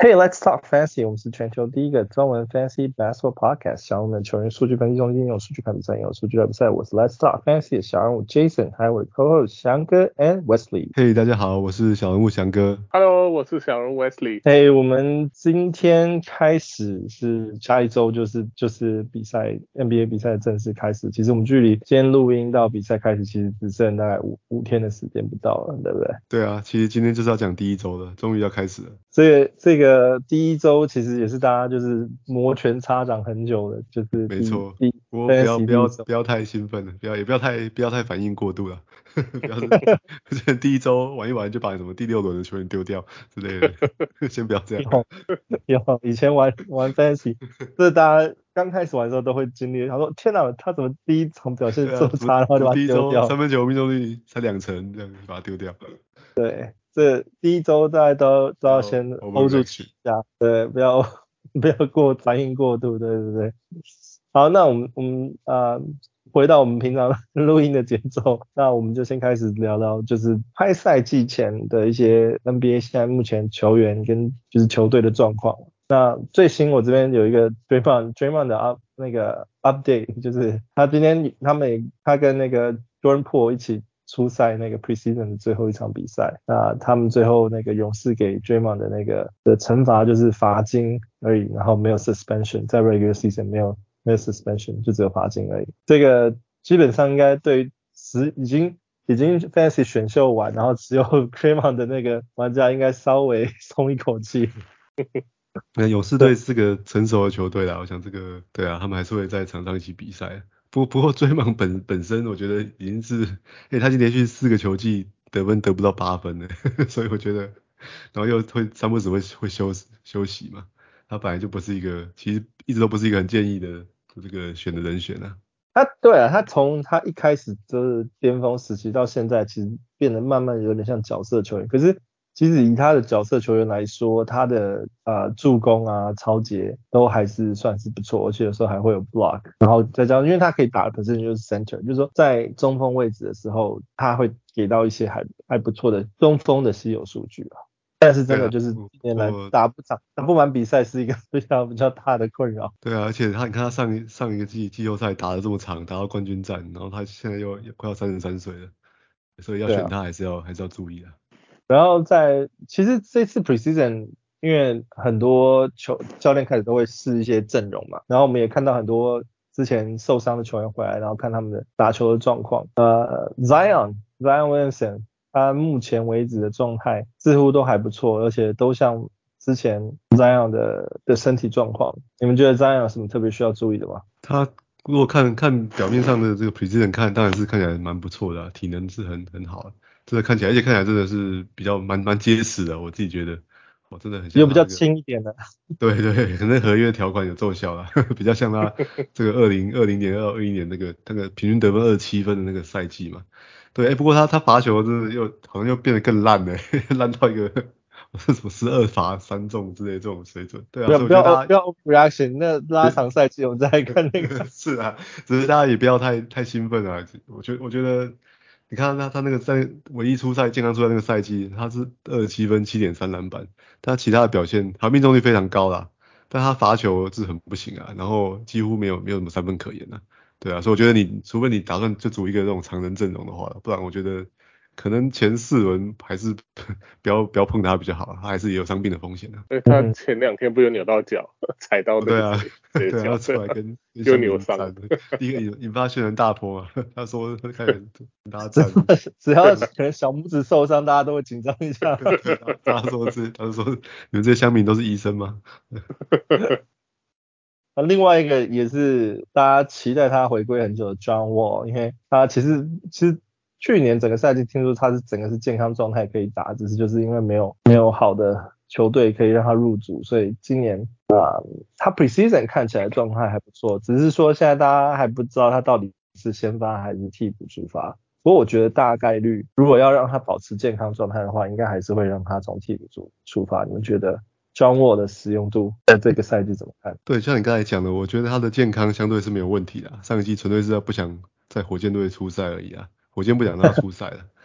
Hey, let's talk fantasy. 我們是全球第一個專門 fantasy basketball podcast。小人物的球員數據分析中心，用數據看比賽，用數據聊比賽。我是 Let's talk fantasy 的小人物 Jason，還有我的 co-host 翔哥 and Wesley。 Hey， 大家好，我是小人物翔哥。 Hello， 我是小人物 Wesley。 Hey， 我們今天開始是下一周就是比賽 NBA 比賽的正式開始。其實我們距離今天錄音到比賽開始，其實只剩大概五天的時間不到了，對不對？ 對啊，其實今天就是要講第一周了，終於要開始了。 這個第一周其實也是大家就是摩拳擦掌很久的，就是沒錯。不過不要太興奮了，不要太反應過度了。不要是第一周玩一玩就把什麼第6輪的球員丟掉之類的，先不要這樣。 有以前玩 fantasy， 這大家剛開始玩的時候都會經歷。他說：“天哪，他怎麼第一場表現這麼差，然後就把他丟掉？” 第一周3分球命中率才2成，這樣把他丟掉。 對，這第一周大家都要先 hold 住氣一下，對，不要反應過度，對。好，那我們回到我們平常錄音的節奏，那我們就先開始聊聊就是開賽季前的一些 NBA 現在目前球員跟就是球隊的狀況。那最新我這邊有一個 Draymond 的那個 update， 就是他今天他跟那個 Jordan Poole 一起出賽那個 preseason 的最後一場比賽，那他們最後那個勇士給 Draymond 的那個的懲罰就是罰金而已，然後沒有 suspension， 在 regular season 沒有 suspension， 就只有罰金而已。這個基本上應該對已經 fantasy 選秀完，然後只有 Draymond 的那個玩家應該稍微鬆一口氣。 勇士隊是個成熟的球隊啦，我想這個對啊，他們還是會在場上一起比賽。不過Draymond本身我覺得已經是，他已經連續4個球季得分得不到8分了，所以我覺得，然後又會3不時會休息嘛，他本來就不是一個，其實一直都不是一個很建議的這個選的人選啊。 對啊，他從他一開始就是巔峰時期到現在，其實變得慢慢有點像角色球員，可是其實以他的角色球員來說，他的助攻啊、抄截都還是算是不錯，而且有時候還會有 block， 然後再加上因為他可以打的本身就是 center， 就是說在中鋒位置的時候，他會給到一些還不錯的中鋒的稀有數据啊。但是真的就是今年來打不完比賽是一個比較大的困擾。 對啊，而且你看他上一個季後賽打得這麼長，打到冠軍戰，然後他現在又快要33歲了，所以要選他還是要注意的。 然後其實這次 preseason 因為很多教練開始都會試一些陣容嘛，然後我們也看到很多之前受傷的球員回來，然後看他們的打球的狀況。Zion Williamson 他目前為止的狀態似乎都還不錯，而且都像之前 Zion 的身體狀況。你們覺得 Zion 有什麼特別需要注意的嗎？ 他如果看表面上的這個 preseason 當然是看起來蠻不錯的啊，體能是很好的。真的看起来真的是比較蠻結實的，我自己覺得，真的很像。 有比較輕一點的。 對，可能合約條款有奏效啦，比較像他這個2020年、2021年那個平均得分27分的那個賽季嘛。對，不過他罰球真的好像又變得更爛了，爛到一個什麼12罰3中之類的這種水準。對啊， 不要 reaction， 那拉長賽季我們再來看那個。 是啊，只是大家也不要太興奮啊。我覺得。你看他那個在唯一健康出賽那個賽季，他是27分 7.3 籃板，但他其他的表現，他命中率非常高啦，但他罰球是很不行啊，然後幾乎沒有什麼3分可言啊，對啊，所以我覺得除非你打算就組一個這種常人陣容的話，不然我覺得可能前4輪還是不要碰他比較好，他還是也有傷病的風險啊。 因為他前2天不是扭到腳，踩到那個對啊，他出來跟就扭傷， 第一個引發軒然大波啊。他說開始跟大家戰， 只要可能小拇指受傷，大家都會緊張一下。 他說你們這些鄉民都是醫生嗎？ 另外一個也是大家期待他回歸很久的 John Wall， 因為他其實去年整個賽季聽說他整個是健康狀態可以打，只是就是因為没有好的球隊可以讓他入主，所以今年他 preseason 看起來狀態還不錯，只是說現在大家還不知道他到底是先發還是替補出發。不過我覺得大概率如果要讓他保持健康狀態的話，應該還是會讓他從替補出發。你們覺得John Wall 的使用度在這個賽季怎麼看？ 對，像你剛才講的，我覺得他的健康相對是沒有問題的。上一季純粹是他不想在火箭隊出賽而已啊，火箭不想讓他出賽了。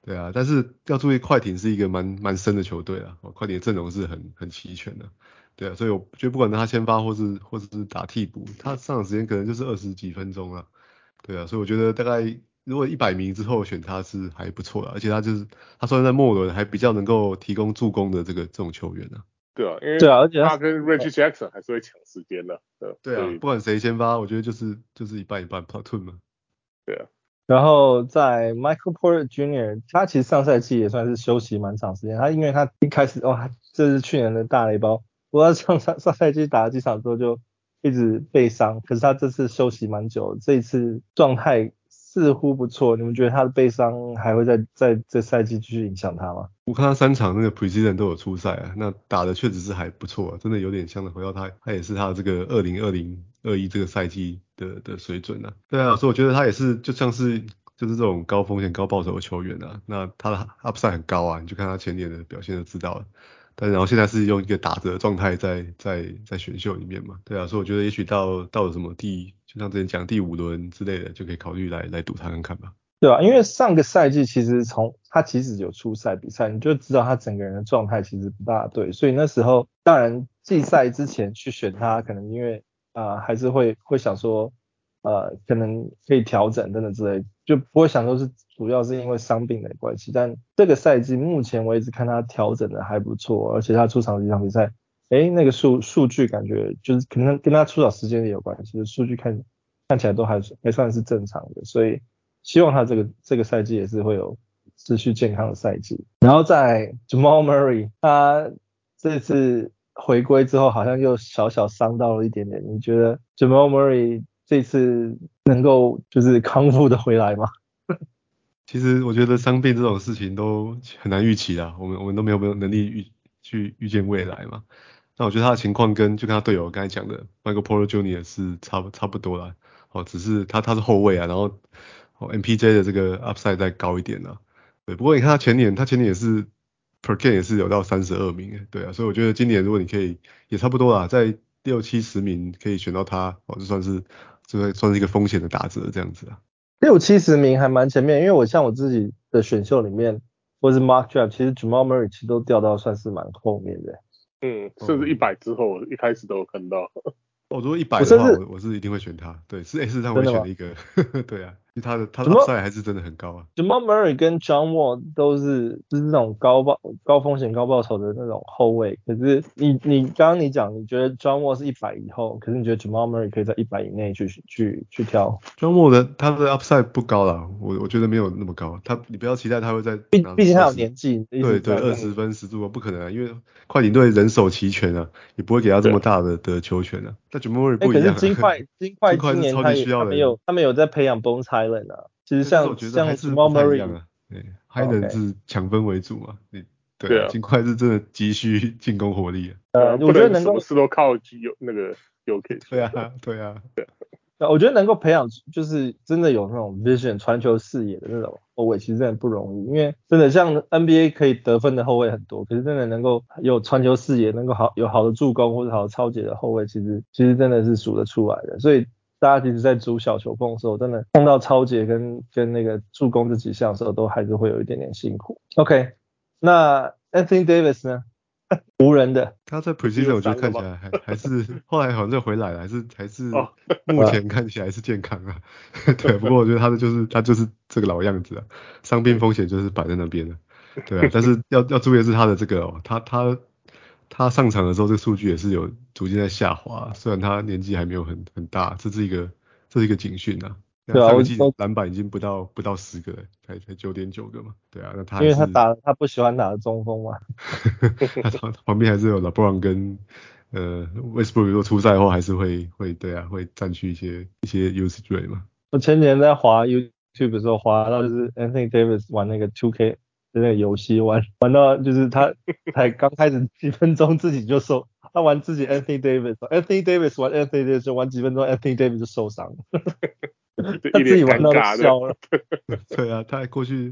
對啊，但是要注意快艇是一個蠻深的球隊啊，快艇的陣容是很齊全的。對啊，所以我覺得不管他先發或是打替補，他上場時間可能就是20幾分鐘啊。對啊，所以我覺得大概如果100名之後選他是還不錯的，而且他算在末輪還比較能夠提供助攻的這種球員啊。 对啊，因為對啊，而且他跟 Reggie Jackson 還是會搶時間的。 对啊，不管誰先发，我覺得就是一半一半 platoon 嘛。 对啊。 然後在 Michael Porter Jr.， 他其實上賽季也算是休息蠻長時間。因為他一開始這是去年的大雷包，不過上賽季打了幾場之後就一直被傷，可是他這次休息蠻久，這一次狀態似乎不錯。你們覺得他的背傷還會在這賽季繼續影響他嗎？ 我看他3場那個 preseason 都有出賽啊，那打的確實是還不錯啊，真的有點像回到他也是他的這個2020-21這個賽季的水準啊。對啊，所以我覺得他也是就像是就是這種高風險高報酬的球員啊，那他的 upside 很高啊，你就看他前年的表現就知道了。但然後現在是用一個打折的狀態在選秀裡面嘛，對啊，所以我覺得也許到了什麼就像之前講第5輪之類的，就可以考慮來賭他看看吧。 對啊，因為上個賽季其實他其實有出賽比賽，你就知道他整個人的狀態其實不大對，所以那時候當然季賽之前去選他，可能因為還是會想說可能可以調整等等之類，就不會想說是主要是因為傷病的關係。但這個賽季目前為止看他調整的還不錯，而且他出場幾場比賽，那個數據感覺就是可能跟他出場時間也有關係，數據看起來都還算是正常的，所以希望他這個賽季也是會有持續健康的賽季。然後在 Jamal Murray， 他這次回歸之後好像又小傷到了一點點，你覺得 Jamal Murray 這次能夠就是康復的回來嗎？ 其實我覺得傷病這種事情都很難預期啦，我們都沒有能力去預見未來嘛。那我覺得他的情況就跟他隊友剛才講的 Michael Porter Jr. 是差不多啦。只是他是後衛啊，然後MPJ 的這個 upside 再高一點啊。對，不過你看他前年也是 per game 也是有到32名，對啊，所以我覺得今年如果你可以也差不多啦，在60-70名可以選到他，就算是一個風險的打折這樣子啊。 60-70名還蠻前面，因為像我自己的選秀裡面或是 Mock Draft， 其實 Jamal Murray 其實都掉到算是蠻後面的。 甚至100之後一開始都有看到。 如果100的話，我是一定會選他。對，是讓我選了一個。對啊，因為他的 upside 還是真的很高啊。 Jamal Murray 跟 John Wall 都是就是那種高風險高報酬的那種後衛。可是你剛剛你講，你覺得 John Wall 是100以後，可是你覺得 Jamal Murray 可以在100以內去挑。 John Wall 他的 upside 不高啦，我覺得沒有那麼高。你不要期待他會在畢竟他有年紀。 對，20分10助攻不可能啊，因為快艇隊人手齊全啊，也不會給他這麼大的球權啊。但 Jamal Murray 不一樣啊。 可是金塊今年他們有在培養 Bones Hyland 啊。其實像 Jamal Murray 啊，Hyland 是搶分為主嘛。對啊，金塊是真的急需進攻火力啊。我覺得能夠什麼事都靠那個Jokic。 對啊。 我覺得能夠培養就是真的有那種 vision 傳球視野的那種後衛，其實真的不容易。因為真的像 NBA 可以得分的後衛很多，可是真的能夠有傳球視野，能夠有好的助攻或者好的抄截的後衛，其實真的是數得出來的。所以大家其實在組小球風的時候，真的碰到抄截跟那個助攻這幾項的時候，都還是會有一點點辛苦。OK， 那 Anthony Davis 呢？湖人的， 他在 preseason 我覺得看起來還是後來好像就回來了，還是目前看起來是健康啊。對，不過我覺得他就是這個老樣子啊，傷病風險就是擺在那邊了。對啊，但是要注意的是他的這個他上場的時候，這個數據也是有逐漸在下滑，雖然他年紀還沒有很大，這是一個警訊啊。對啊，上個季籃板已經不到10個了，才 9.9 個嘛。對啊，那他還是因為他不喜歡打的中鋒嘛。 他旁邊還是有 LeBron 跟Westbrook， 如果出賽後還是會佔據一些 usage rate 嘛。 我前年在滑 YouTube 的時候，滑到就是 Anthony Davis 玩那個 2K 的那個遊戲，玩到就是他才剛開始幾分鐘自己就受，他玩自己 Anthony Davis 玩 Anthony Davis 就玩幾分鐘 Anthony Davis 就受傷了。他自己玩到笑了。 對啊，他過去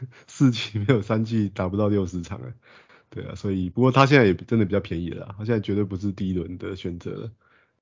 4季沒有3季打不到60場了。對啊，所以不過他現在也真的比較便宜了啦，他現在絕對不是第一輪的選擇了。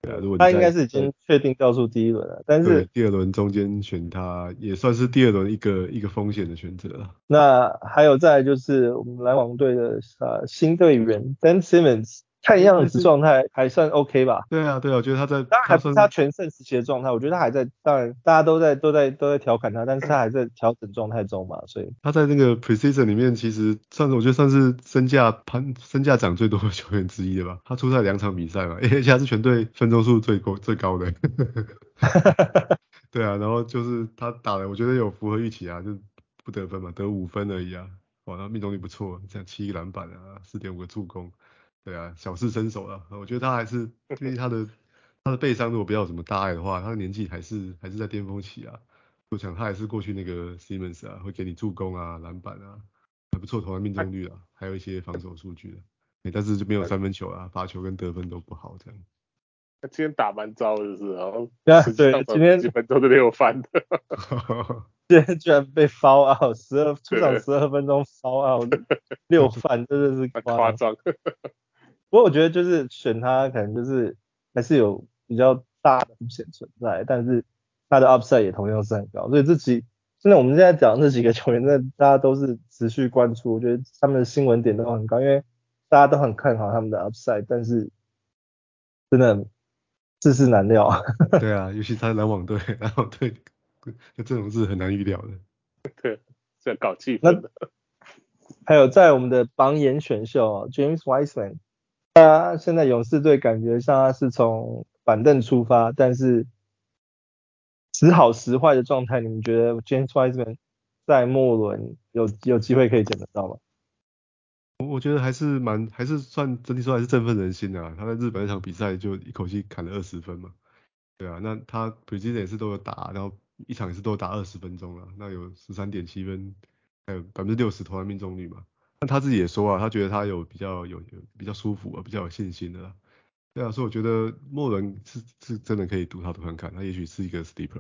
對啊，如果你他應該是已經確定掉出第一輪了，但是对第二輪中間選他也算是第二輪一個風險的選擇了。 那還有再來就是我們籃網隊的新隊員 Ben Simmons， 看樣子狀態還算 OK 吧？ 对啊，我覺得他在當然還不是他全盛時期的狀態，我覺得他還在，當然大家都在調侃他，但是他還在調整狀態中嘛，所以他在那個 preseason 裡面其實我覺得算是身價漲最多的球員之一了吧。他出賽2場比賽嘛，而且他是全隊分鐘數最高的。对啊，然後就是他打的我覺得有符合預期啊，就不得分嘛，得5分而已啊。哇，他命中率不錯，像7個籃板啊，4.5個助攻。對啊，小試身手了。我覺得他還是因為他的背傷如果不要有什麼大礙的話，他的年紀還是在巔峰期啊。我想他還是過去那個 Simmons 啊，會給你助攻啊、籃板啊，還不錯，投籃命中率啊，還有一些防守數據的。但是就沒有三分球啊，罰球跟得分都不好這樣。 他今天打蠻糟的，就是，然後對，今天基本都是6犯的。 今天居然被 foul out，出场12分鐘 foul out 6犯，真的是誇張。 不过我覺得就是選他，可能就是還是有比較大的風險存在，但是他的 upside 也同樣是很高，所以真的我們現在講這幾個球員，真的大家都是持續關注，我覺得他們的新聞點都很高，因為大家都很看好他們的 upside，但是真的世事難料。 對啊，尤其他籃網隊這種是很難預料的。 對，是要搞氣氛的。 還有在我們的榜眼選秀James Wiseman， 他現在勇士隊感覺像他是從板凳出發，但是時好時壞的狀態，你們覺得 James Wiseman 在末輪有機會可以撿得到嗎？ 我覺得還是算整體說還是振奮人心的啊。他在日本那場比賽就一口氣砍了20分嘛。對啊，那他 preseason 也是都有打，然后一場也是都有打20分鐘了，那有13.7分，還有60%投籃命中率嘛。那他自己也說啊，他覺得他有比較舒服啊，比較有信心的啦。對啊，所以我覺得莫倫是真的可以賭他看看，他也許是一個 sleeper。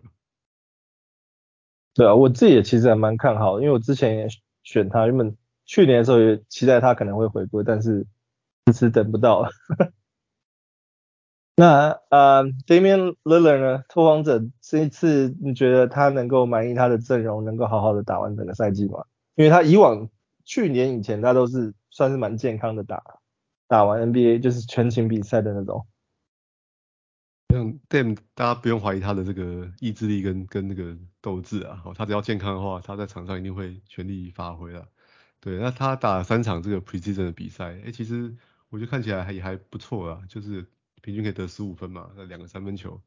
對啊，我自己也其實還蠻看好的，因為我之前也選他，原本去年的時候也期待他可能會回歸，但是遲遲等不到了。那Damian Lillard 呢？拓荒者這一次你覺得他能夠滿意他的陣容，能夠好好的打完整個賽季嗎？因為他去年以前他都是算是蠻健康的打完 NBA 就是全勤比賽的那種。 像 Dame 大家不用懷疑他的這個意志力跟那個鬥志啊，他只要健康的話，他在場上一定會全力發揮了。對，那他打了3場這個 preseason 的比賽，其實我覺得看起來也還不錯啦，就是平均可以得15分嘛，那2個三分球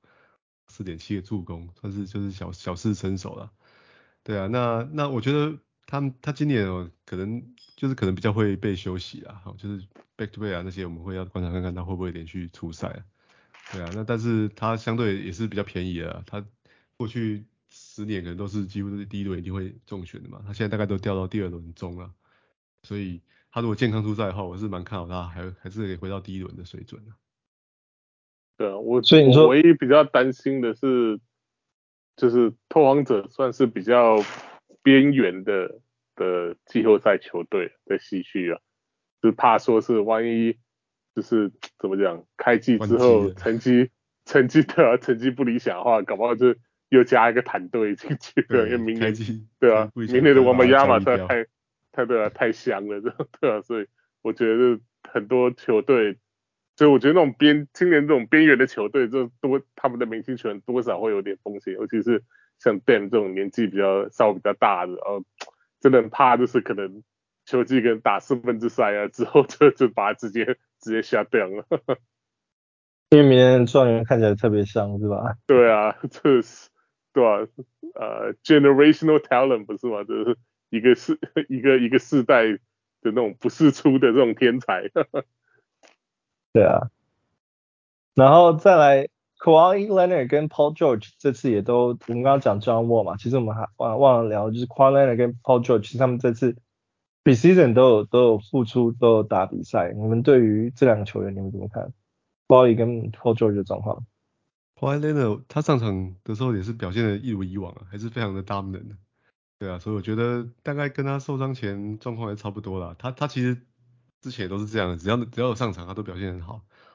，4.7個助攻，算是就是小試身手啦。對啊，那我覺得他今年可能比較會被休息啦，就是 back to back 啊那些我們會要觀察看看他會不會連續出賽啊。對啊，那但是他相對也是比較便宜的，他過去10年可能都是幾乎都是第一輪一定會中選的嘛，他現在大概都掉到第2輪中了，所以他如果健康出賽的話，我是蠻看好他還是可以回到第一輪的水準的。 對啊，我所以你說唯一比較擔心的是，就是拓荒者算是比較邊緣的季後賽球隊的唏噓啊，就是怕說是萬一就是怎麼講，開季之後成績不理想的話，搞不好就又加一個坦隊進去了，因為明年對啊，明年的王牌亞馬太香了，對啊，所以我覺得很多球隊。所以我覺得那種今年這種邊緣的球隊，他們的明星球員多少會有點風險，尤其是像 Dame 這種年紀稍微比較大的，真的很怕就是可能球季跟打4分之賽啊之後就把他直接下掉了。 因為明年狀元看起來特別香，是吧？ 對啊，這是對啊，generational talent 不是嗎？就是一個世代的那種不世出的這種天才。 對啊，然後再來 Kawhi Leonard 跟 Paul George 這次也都，我們剛剛講 John Wall 嘛，其實我們還忘了聊，就是 Kawhi Leonard 跟 Paul George 其實他們這次 preseason 都有付出，都有打比賽。你們對於這2個球員你們怎麼看 Kawhi 跟 Paul George 的狀況？ Kawhi Leonard 他上場的時候也是表現得一如以往啊，還是非常的 dominant 的。對啊，所以我覺得大概跟他受傷前狀況也差不多啦。他其實之前也都是這樣的，只要有上場他都表現很好。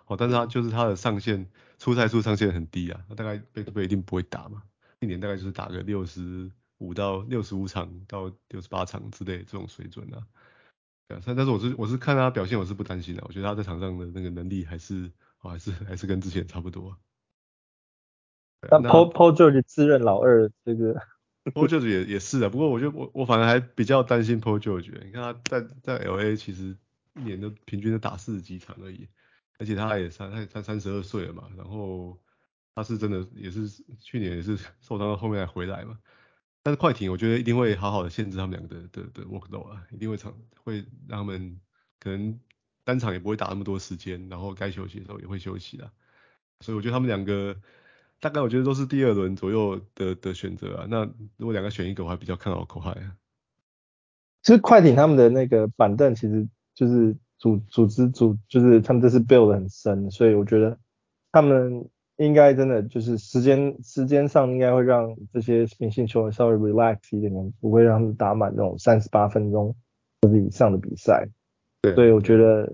但是他的上限出赛數上限很低啊，他大概back-to-back一定不會打嘛，一年大概就是打個65到65場到68場之類的這種水準啊。但是我是看他表現我是不擔心的，我覺得他在場上的那個能力還是跟之前差不多。 那 Paul George 自認老二這個 ，Paul George 也是啊，不過我覺得我反而還比較擔心 Paul George，你看他在 LA 其實一年都平均都打40幾場而已，而且他32歲了嘛，然後他是真的也是去年也是受傷到後面才回來嘛。但是快艇我覺得一定會好好的限制他們兩個的 workload 啊，一定會讓他們可能單場也不會打那麼多時間，然後該休息的時候也會休息啦。所以我覺得他們兩個大概我覺得都是第2輪左右的選擇啊。那如果兩個選一個，我還比較看好Kawhi啊。 其實快艇他們的那個板凳其實就是就是他們這次 build 得很深，所以我覺得他們應該真的就是時間上應該會讓這些明星球員稍微 relax 一點點，不會讓他們打滿那種38分鐘或者以上的比賽。 對， 所以我覺得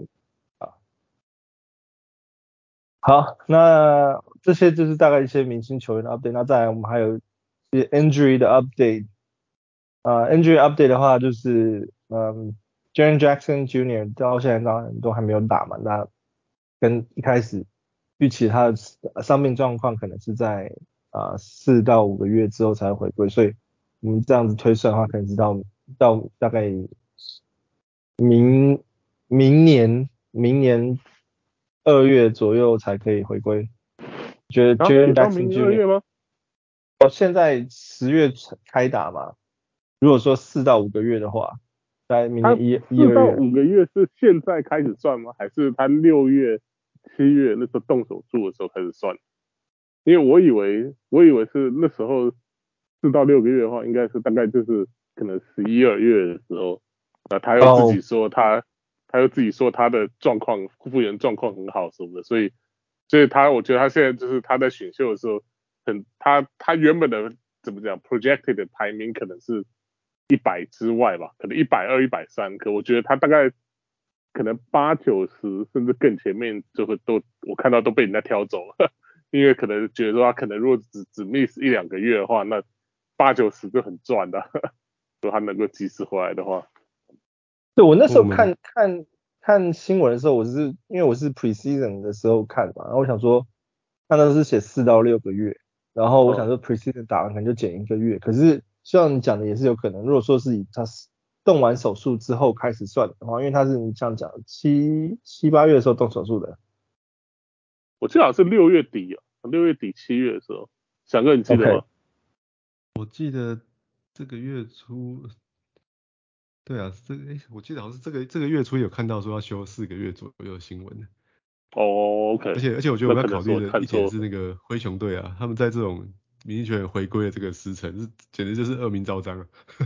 好，那這些就是大概一些明星球員的 update。那再來我們還有一些 injury 的 update。injury update 的話就是Jaren Jackson Jr. 到現在當然都還沒有打嘛，那跟一開始預期他的傷病狀況可能是在4到5個月之後才會回歸，所以我們這樣子推算的話，可能直到大概明年2月左右才可以回歸。覺得 Jaren Jackson Jr. 現在10月開打嘛，如果說4到5個月的話，在明年4 到5個月是現在開始算嗎？還是他6月、7月那時候動手術的時候開始算？因為我以為是那時候4到6個月的話，應該是大概就是可能11、2月的時候，他又自己說他又自己說他的狀況復原狀況很好什麼的，所以我覺得他現在就是他在選秀的時候，他原本的怎麼講 projected 的排名可能是100之外吧，可能120、130，可我覺得他大概可能80、90甚至更前面就会我看到都被人家挑走了，因為可能覺得說他可能如果只 miss 1、2個月的話，那80、90就很賺的，如果他能夠及時回來的話。 對，我那時候看新聞的時候，因為我是 preseason 的時候看嘛，然後我想說，他那是寫4到6個月，然後我想說 preseason 打完可能就減1個月，可是像你講的也是有可能，如果說是以他動完手術之後開始算的話，因為他是你這樣講7、8月的時候動手術的， 我記得好像是6月底6月底7月的時候，翔哥你記得嗎？ Okay. 我記得這個月初。對啊，我記得好像是這個月初有看到說要休4個月左右的新聞的。 OK。 而且我覺得我在考慮的一點是那個灰熊隊啊，他們在這種明星球員回歸的這個時辰，簡直就是惡名昭彰啊。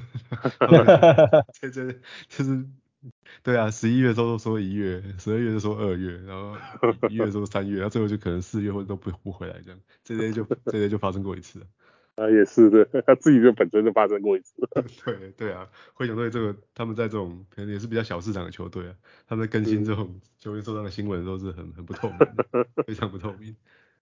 就是對啊，11月的時候說1月，12月就說2月，然後1月說3月，然後最後就可能4月或者都不回來這樣，這些就發生過一次了。 也是的，他自己就本身就發生過一次。 对啊，灰熊队他們在這種可能也是比較小市場的球隊啊，他們在更新這種球員受傷的新聞的時候是很不透明的，非常不透明。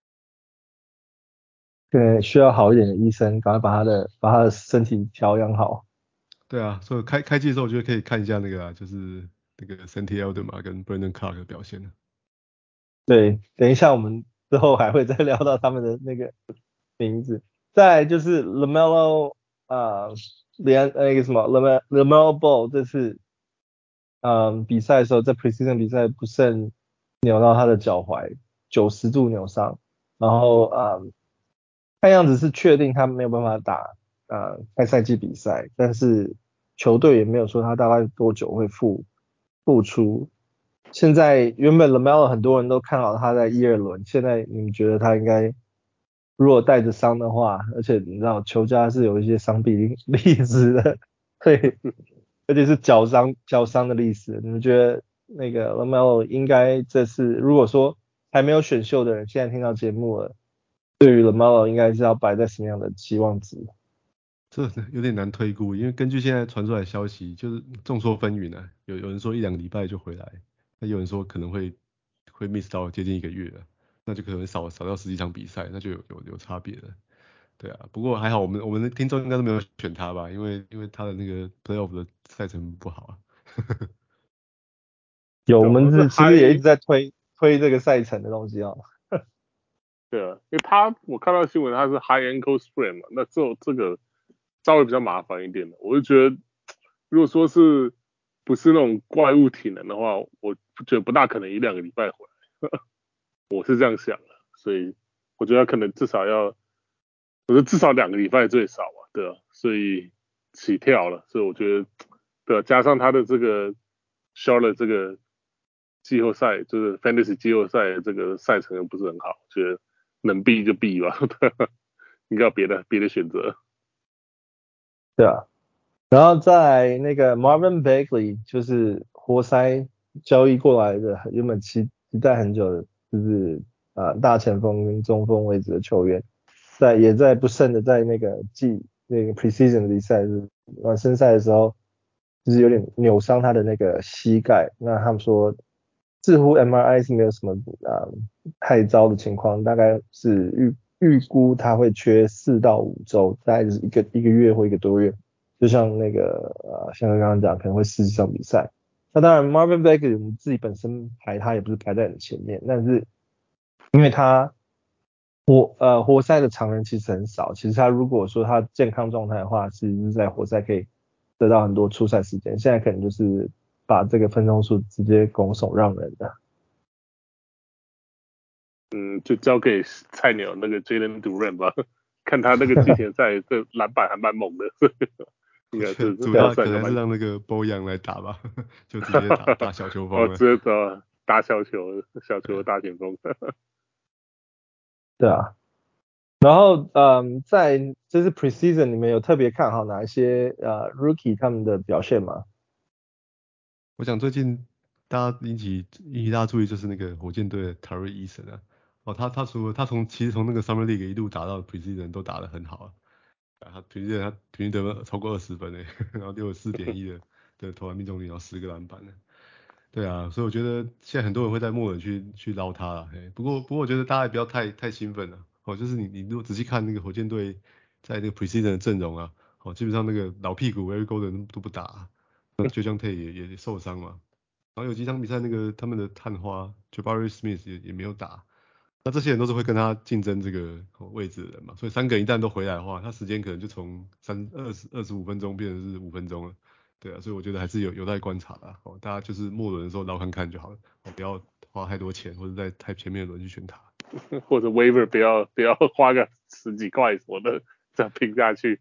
對，需要好一點的醫生，趕快把他的身體調養好。 對啊，所以開季的時候我覺得可以看一下那個就是那個 Santi Aldama 跟 Brandon Clarke 的表現。 對，等一下我們之後還會再聊到他們的那個名字。再來就是 LaMelo 那個什麼 LaMelo Ball 這次比賽的時候，在 preseason 比賽不慎扭到他的腳踝，90度扭傷，然後看樣子是確定他沒有辦法打開賽季比賽，但是球隊也沒有說他大概多久會復出。現在原本 LaMelo 很多人都看好他在1、2輪，現在你們覺得他應該如果帶着傷的話，而且你知道球家是有一些傷病歷史的，對，而且是腳傷的歷史，你們覺得那個 LaMelo 應該這次如果說還沒有選秀的人現在聽到節目了，對於 LaMelo 應該是要擺在什麼樣的期望值？ 這有點難推估，因為根據現在傳出來的消息，就是眾說紛紜啊，有人說1、2個禮拜就回來，那有人說可能會會 miss 到接近1個月了，那就可能少掉10幾場比賽，那就有差別了。對啊，不過還好我們的聽眾應該都沒有選他吧，因為他的那個 playoff 的賽程不好啊。 有，我們其實也一直在推這個賽程的東西啊。 对啊，因為我看到新聞他是 high ankle sprain 嘛，那這個稍微比較麻煩一點的。我就覺得，如果說是不是那種怪物體能的話，我覺得不大可能1-2個禮拜回來。我是這樣想的，所以我覺得他可能至少2個禮拜最少嘛，對啊，所以起跳了，所以我覺得，對啊，加上他的這個 Charlotte 這個季後賽，就是 Fantasy 季後賽的這個賽程又不是很好，覺得能避就避吧，應該有別的選擇。 對啊，然後在那個 Marvin Bagley 就是活塞交易過來的，原本期待很久的，就是大前鋒跟中鋒位置的球員，也在不慎的在那個preseason 的比賽是暖身賽的時候，就是有點扭傷他的那個膝蓋。那他們說，似乎 MRI 是沒有什麼太糟的情況，大概是預估他會缺4到5週，大概就是一個月或1個多月。就像那個像剛剛講，可能會失場比賽。那當然 Marvin Bagley 我們自己本身排他也不是排在很前面，但是因為他活塞的常人其實很少，其實他如果說他健康狀態的話，其實是在活塞可以得到很多出賽時間，現在可能就是把這個分鐘數直接拱手讓人的。 就交給菜鳥那個 Jalen Duren 吧，看他那個季前賽這籃板還蠻猛的，應該是主要可能還是讓那個 Bojan 來打吧，就直接打小球風了。 直接打小球的大前鋒。 對啊，然後在這次 preseason 裡面有特別看好哪一些rookie 他們的表現嗎？ 我想最近大家引起大家注意就是那個火箭隊的 Tari Eason 啊，他其實從那個 Summer League 一路打到 preseason 都打得很好啊，他平均得分超過20分誒，然後64.1的投籃命中率，然後10個籃板呢。對啊，所以我覺得現在很多人會在末輪去撈他啦，不過我覺得大家也不要太興奮了，就是你如果仔細看那個火箭隊在那個 preseason 的陣容啊，基本上那個老屁股 Eric Gordon 都不打啊，那Jae'Sean Tate 也受傷嘛，然後有幾場比賽那個他們的探花 Jabari Smith 也沒有打，那這些人都是會跟他競爭這個位置的人嘛，所以3個人一旦都回來的話，他時間可能就從25分鐘變成是5分鐘了。對啊，所以我覺得還是有待觀察啦，大家就是末輪的時候撈看看就好了，不要花太多錢或者在太前面的輪去選他， 或者 waiver 不要花個10幾塊什麼的這樣拼下去。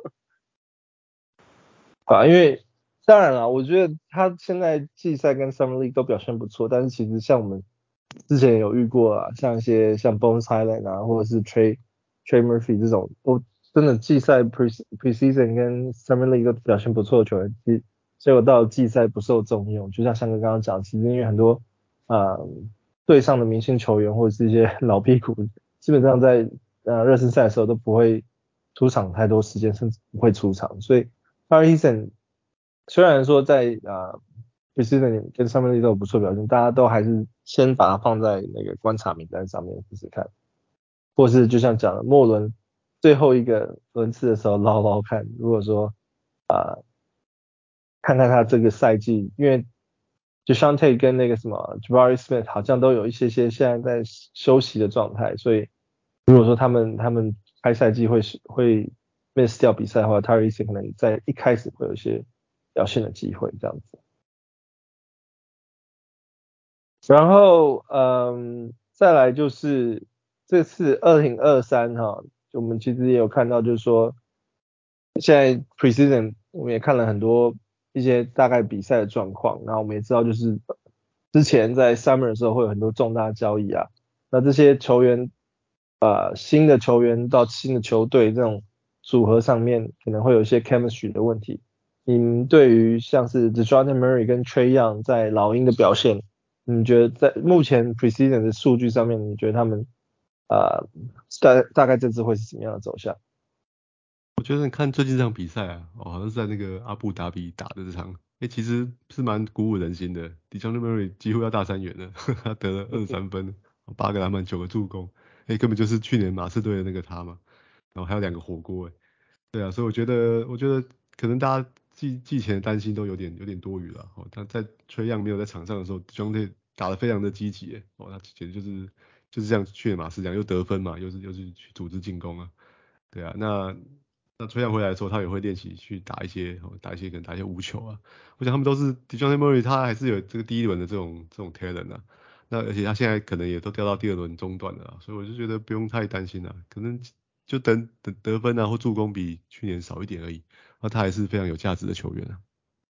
因為當然了，我覺得他現在季賽跟 Summer League 都表現不錯，但是其實像我們之前有遇過啊，像一些像 Bones Hyland 啊，或者是 Trey Murphy 這種都真的季賽 preseason 跟 Summer League 都表現不錯的球員，結果到季賽不受重用，就像翔哥剛剛講，其實因為很多隊上的明星球員或者是一些老屁股，基本上在熱身賽的時候都不會出場太多時間，甚至不會出場，所以 Tari Eason 雖然說在preseason 跟 Summer League 都有不錯表現，大家都還是先把它放在那個觀察名單上面試試看，或是就像講的末輪最後一個輪次的時候撈看，如果說看看他這個賽季，因為 Jae'Sean Tate 跟那個什麼 Jabari Smith 好像都有一些現在在休息的狀態，所以如果說他們開賽季會 miss 掉比賽的話， Tari Eason 可能在一開始會有一些表現的機會這樣子。然後再來就是這次2023哈，我們其實也有看到，就是說現在 preseason 我們也看了很多一些大概比賽的狀況，然後我們也知道就是之前在 summer 的時候會有很多重大交易啊，那這些球員新的球員到新的球隊這種組合上面可能會有一些 chemistry 的問題。你們對於像是 DeJounte Murray 跟 Trae Young 在老鷹的表現，你覺得在目前 preseason 的數據上面，你覺得他們大概這次會是什麼樣的走向？ 我覺得你看最近這場比賽啊，好像是在那個阿布達比打的這場其實是蠻鼓舞人心的。DeJounte Murray 幾乎要大三元了，他得了23分，8個籃板，9個助攻，根本就是去年馬刺隊的那個他嘛。然後還有2個火鍋，對啊，所以我覺得可能大家季前的擔心都有點多餘了。他在Trae Young沒有在場上的時候，DeJounte打得非常的積極，他簡直就是像去年馬刺這樣，又得分嘛，又是去組織進攻啊，對啊，那Trae Young回來的時候，他也會練習去打一些可能打一些無球啊。我想他們都是 DeJounte Murray，他還是有這個第一輪的這種 talent 啊。那而且他現在可能也都掉到第2輪中段了，所以我就覺得不用太擔心了，可能就等得分啊或助攻比去年少一點而已。那他還是非常有價值的球員啊。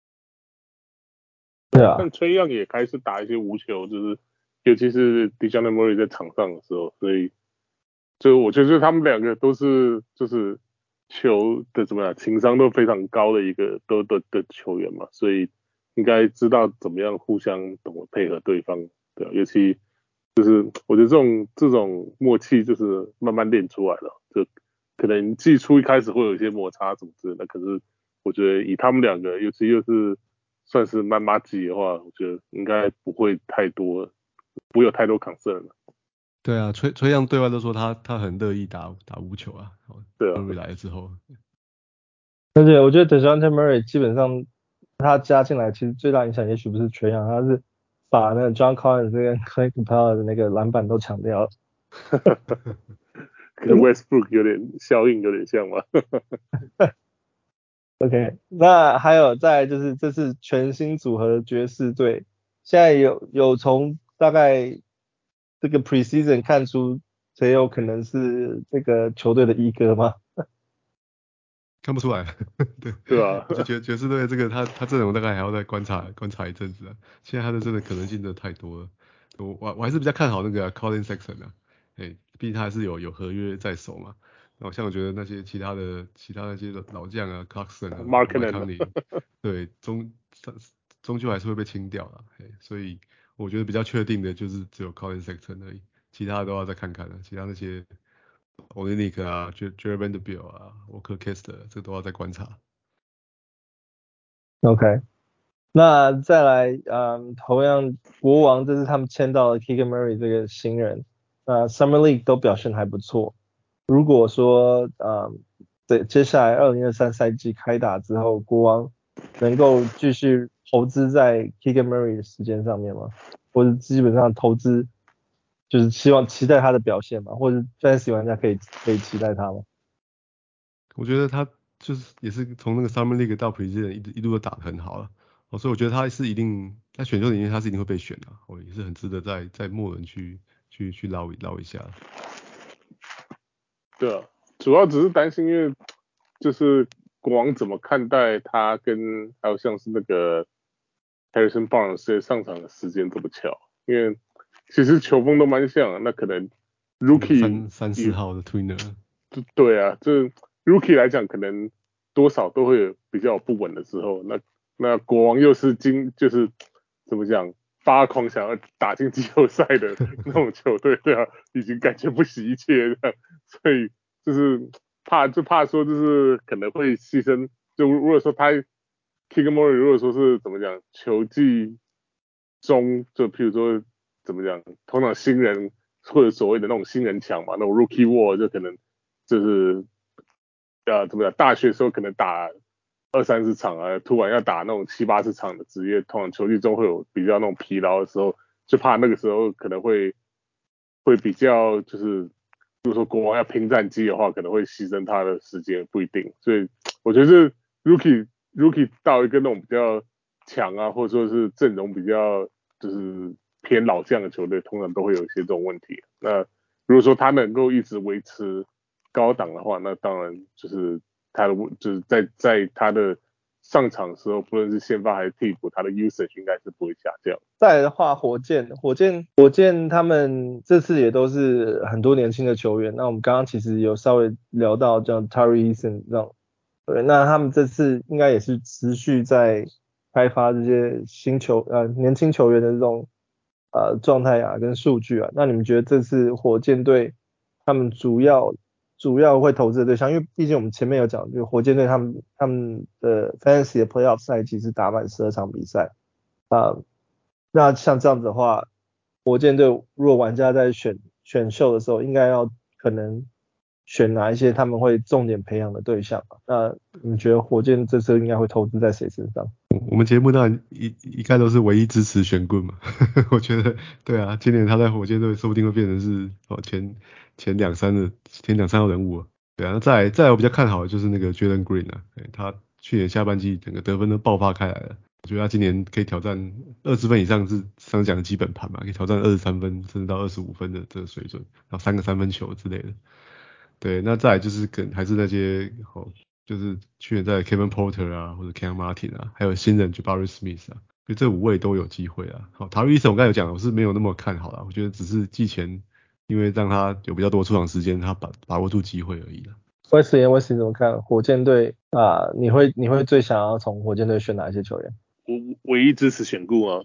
對啊， 但Trae Young也開始打一些無球，就是尤其是 DeJounte Murray 在場上的時候，所以就我覺得他們2個都是就是球的情商都非常高的一個的球員嘛，所以应該知道怎麼樣互相懂得配合对方，对啊，尤其就是我覺得這種默契就是慢慢練出來了，就可能季初一開始會有一些摩擦什麼之類的，可是我覺得以他們2個，尤其又是算是蠻麻吉的話，我覺得應該不會有太多 concern 了。 對啊，Trae Young對外都說他很樂意打無球啊。 對啊。 Murray 來了之後， 而且我覺得 DeJounte Murray 基本上他加進來，其實最大影響也許不是Trae Young，他是把那個 John Collins 跟 Clint Capela 的那個籃板都搶掉了。 跟 Westbrook 效應有點像嗎 ？OK， 那還有再來就是這是全新組合的爵士隊，現在有從大概這個 preseason 看出誰有可能是這個球隊的一哥嗎？ 看不出來，對对啊， 我就覺得爵士隊這個他陣容大概還要再觀察一陣子啊。現在他的真的可能性真的太多了。我還是比較看好那個Collin Sexton 啊，畢竟他還是有合約在手嘛。然後像我覺得那些其他那些老將啊 ，Clarkson 啊 Markkanen 對，終究還是會被清掉了。所以我覺得比較確定的就是只有 Collin Sexton 而已，其他的都要再看看了。其他那些Olynyk 啊 Jared Vanderbilt 啊 Walker Kessler 這都要再觀察。 OK， 那再來，同樣國王這是他們簽到了 Keegan Murray 這個新人，Summer League 都表現還不錯。如果說，對，接下來2023賽季開打之後，國王能夠繼續投資在 Keegan Murray 的時間上面嗎？或者基本上投資就是期待他的表現嗎？或者 Fantasy 玩家可以期待他嗎？ 我覺得他就是也是從那個 Summer League 到 Preseason 一路都打得很好了，所以我覺得他是一定在選秀裡面他是一定會被選的，也是很值得在末輪去撈一下。 對啊，主要只是擔心，因為就是國王怎麼看待他跟還有像是那個 Harrison Barnes 上場的時間這麼巧，因為其實球風都蠻像的，那可能 Rookie 3-4號的 Tweener。 對啊，這 Rookie 來講可能多少都會有比較不穩的時候，那國王又是就是怎麼講發狂想要打進季後賽的那種球隊，對啊，已經感覺不惜一切的，所以就是怕說就是可能會犧牲，就如果說他 Keegan Murray 如果說是怎麼講球季中，就譬如說怎麼講，通常新人或者所謂的那種新人牆嘛，那種 Rookie Wall 就可能就是怎麼講，大學的時候可能打20-30場啊，突然要打那種7-8場的職業，通常球季中會有比較那種疲勞的時候，就怕那個時候可能會比較就是如果說國王要拼戰績的話，可能會犧牲他的時間，不一定。所以我覺得是 Rookie 到一個那種比較強啊，或者說是陣容比較就是偏老將的球隊，通常都會有一些這種問題。那如果說他能夠一直維持高檔的話，那當然就是他的就是在他的上場的時候，不論是先發還是替補，他的 usage 應該是不會下降。 再來的話，火箭他們這次也都是很多年輕的球員。那我們剛剛其實有稍微聊到像 Tari Eason 這樣，對，那他們這次應該也是持續在開發這些年輕球員的這種狀態啊跟數據啊。那你們覺得這次火箭隊他們主要主要會投資的對象，因為畢竟我們前面有講，就是火箭隊他們的 Fantasy 的 Playoff 賽季是打滿12場比賽那像這樣子的話，火箭隊如果玩家在選秀的時候，應該要可能選哪一些他們會重點培養的對象？那你覺得火箭這次應該會投資在誰身上？ 我們節目當然一概都是唯一支持選棍嘛。我覺得对啊，今年他在火箭隊說不定會變成是前兩三號人物啊。对啊，那再來我比較看好的就是那個 Jalen Green 啊，他去年下半季整個得分都爆發開來了。我覺得他今年可以挑戰20分以上是上講的基本盤嘛，可以挑戰23分甚至到25分的這個水準，然後3個3分球之類的。对，那再來就是還是那些就是去年在 Kevin Porter 啊，或者 Cam Martin 啊，還有新人 Jabari Smith 啊，就這5位都有機會啊。好，Tari Eason 我剛才有講，我是沒有那麼看好啦，我覺得只是季前因為讓他有比較多出場時間，他把握住機會而已啦。 Wesley 怎麼看火箭隊啊？你會最想要從火箭隊選哪一些球員？ 我唯一支持選固啊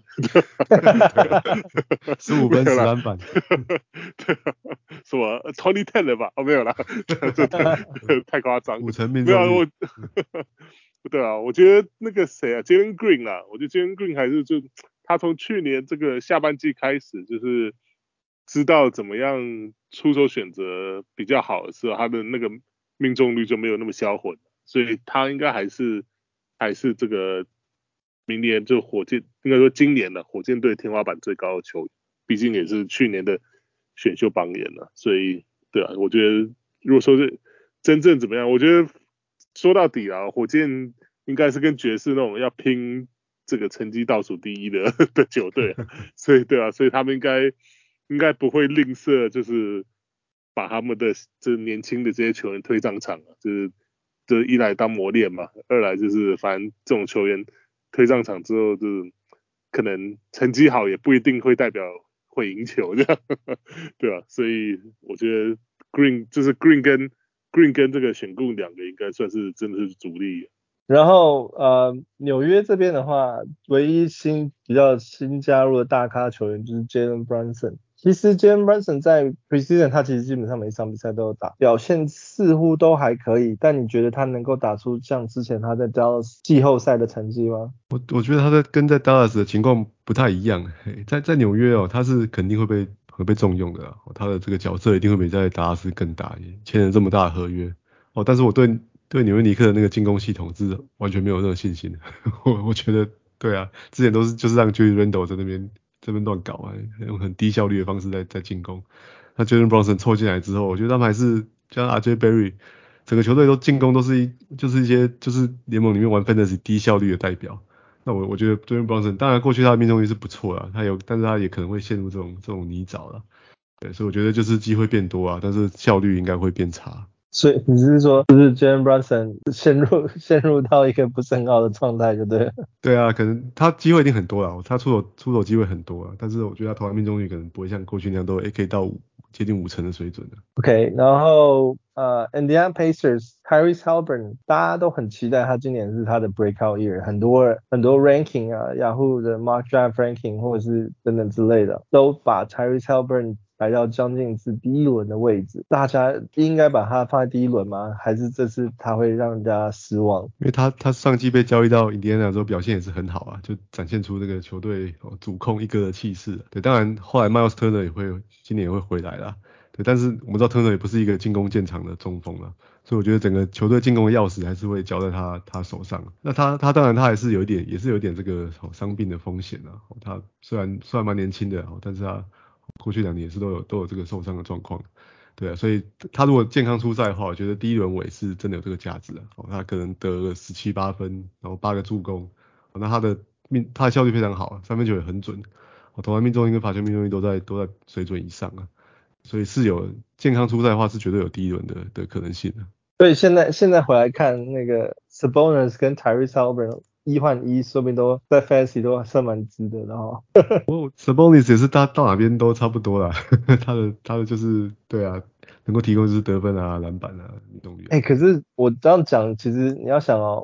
，15分10籃板， 什麼 2010了吧？哦，沒有啦，太誇張， 五成命中率。 沒有對啊，我覺得那個誰啊 ，Jalen Green 啦，我覺得 Jalen Green 還是他從去年這個下半季開始，就是知道怎麼樣出手選擇比較好的時候，他的那個命中率就沒有那麼銷魂，所以他應該還是這個明年就應該說今年的火箭隊天花板最高的球員，畢竟也是去年的選秀榜眼了，所以對啊，我覺得如果說是真正怎麼樣，我覺得說到底啊，火箭應該是跟爵士那種要拼這個成績倒數第一的球隊啊，所以对啊，所以他們應該不會吝嗇，就是把他們的這年輕的這些球員推上場啊，就是一來當磨練嘛，二來就是反正這種球員推上場之後，就是可能成績好也不一定會代表會贏球這樣，對吧？所以我覺得 Green 跟這個選固兩個應該算是真的是主力。 然後紐約這邊的話，唯一比較新加入的大咖球員就是 Jalen Brunson。其實 Jalen Brunson 在 Preseason 他其實基本上每一場比賽都有打，表現似乎都還可以。但你覺得他能夠打出像之前他在 Dallas 季後賽的成績嗎？ 我覺得他跟在 Dallas 的情況不太一樣。在紐約他是肯定會被重用的啦，他的這個角色一定會比在達拉斯更大，簽了這麼大的合約。但是我對紐約尼克的那個進攻系統是完全沒有任何信心的。我覺得對啊，之前都是就是讓 Julius Randle 在這邊亂搞啊，用很低效率的方式在進攻。那 Jalen Brunson 湊進來之後，我覺得他們還是像 RJ Barry， 整個球隊都進攻都是就是一些就是聯盟裡面玩 Fantasy 低效率的代表。那我覺得 Jalen Brunson 當然過去他的命中率是不錯啦，但是他也可能會陷入這種泥沼啦。對，所以我覺得就是機會變多啊，但是效率應該會變差。 所以你是說，就是 Jalen Brunson 陷入到一個不是很好的狀態，就對了。對啊，可能他機會一定很多啦，他出手機會很多啦，但是我覺得他投籃命中率可能不會像過去那樣都可以到接近50%的水準的。 OK， 然後Indiana Pacers Tyrese Haliburton 大家都很期待他今年是他的 breakout year， 很多 ranking 啊 Yahoo 的 Mock Draft Ranking 或者是等等之類的，都把 Tyrese Haliburton排到將近是第一輪的位置，大家應該把他放在第一輪嗎？還是這次他會讓人家失望？ 因為他上季被交易到印第安納之後表現也是很好啊，就展現出這個球隊主控一哥的氣勢。對，當然後來 Miles Turner 今年也會回來啦。對，但是我們知道 Turner 也不是一個進攻見長的中鋒啦，所以我覺得整個球隊進攻的鑰匙還是會交在他手上。那他當然他也是有一點這個傷病的風險啊。他雖然蠻年輕的，但是他過去2年也是都有這個受傷的狀況，對啊，所以他如果健康出賽的話，我覺得第一輪尾是真的有這個價值啊。他可能得了17、8分，然後8個助攻，那他的效率非常好，三分球也很準，投籃命中率跟罰球命中率都在水準以上啊，所以是有健康出賽的話是絕對有第一輪的可能性的。 所以現在回來看那個 Sabonis 跟 Tyrese Haliburton 1換1，說不定都在 Fantasy 都算蠻值得的哈。 Sabonis 也是他到哪邊都差不多啦，他的就是對啊，能夠提供就是得分啊、籃板啊、命中率。 可是我這樣講，其實你要想我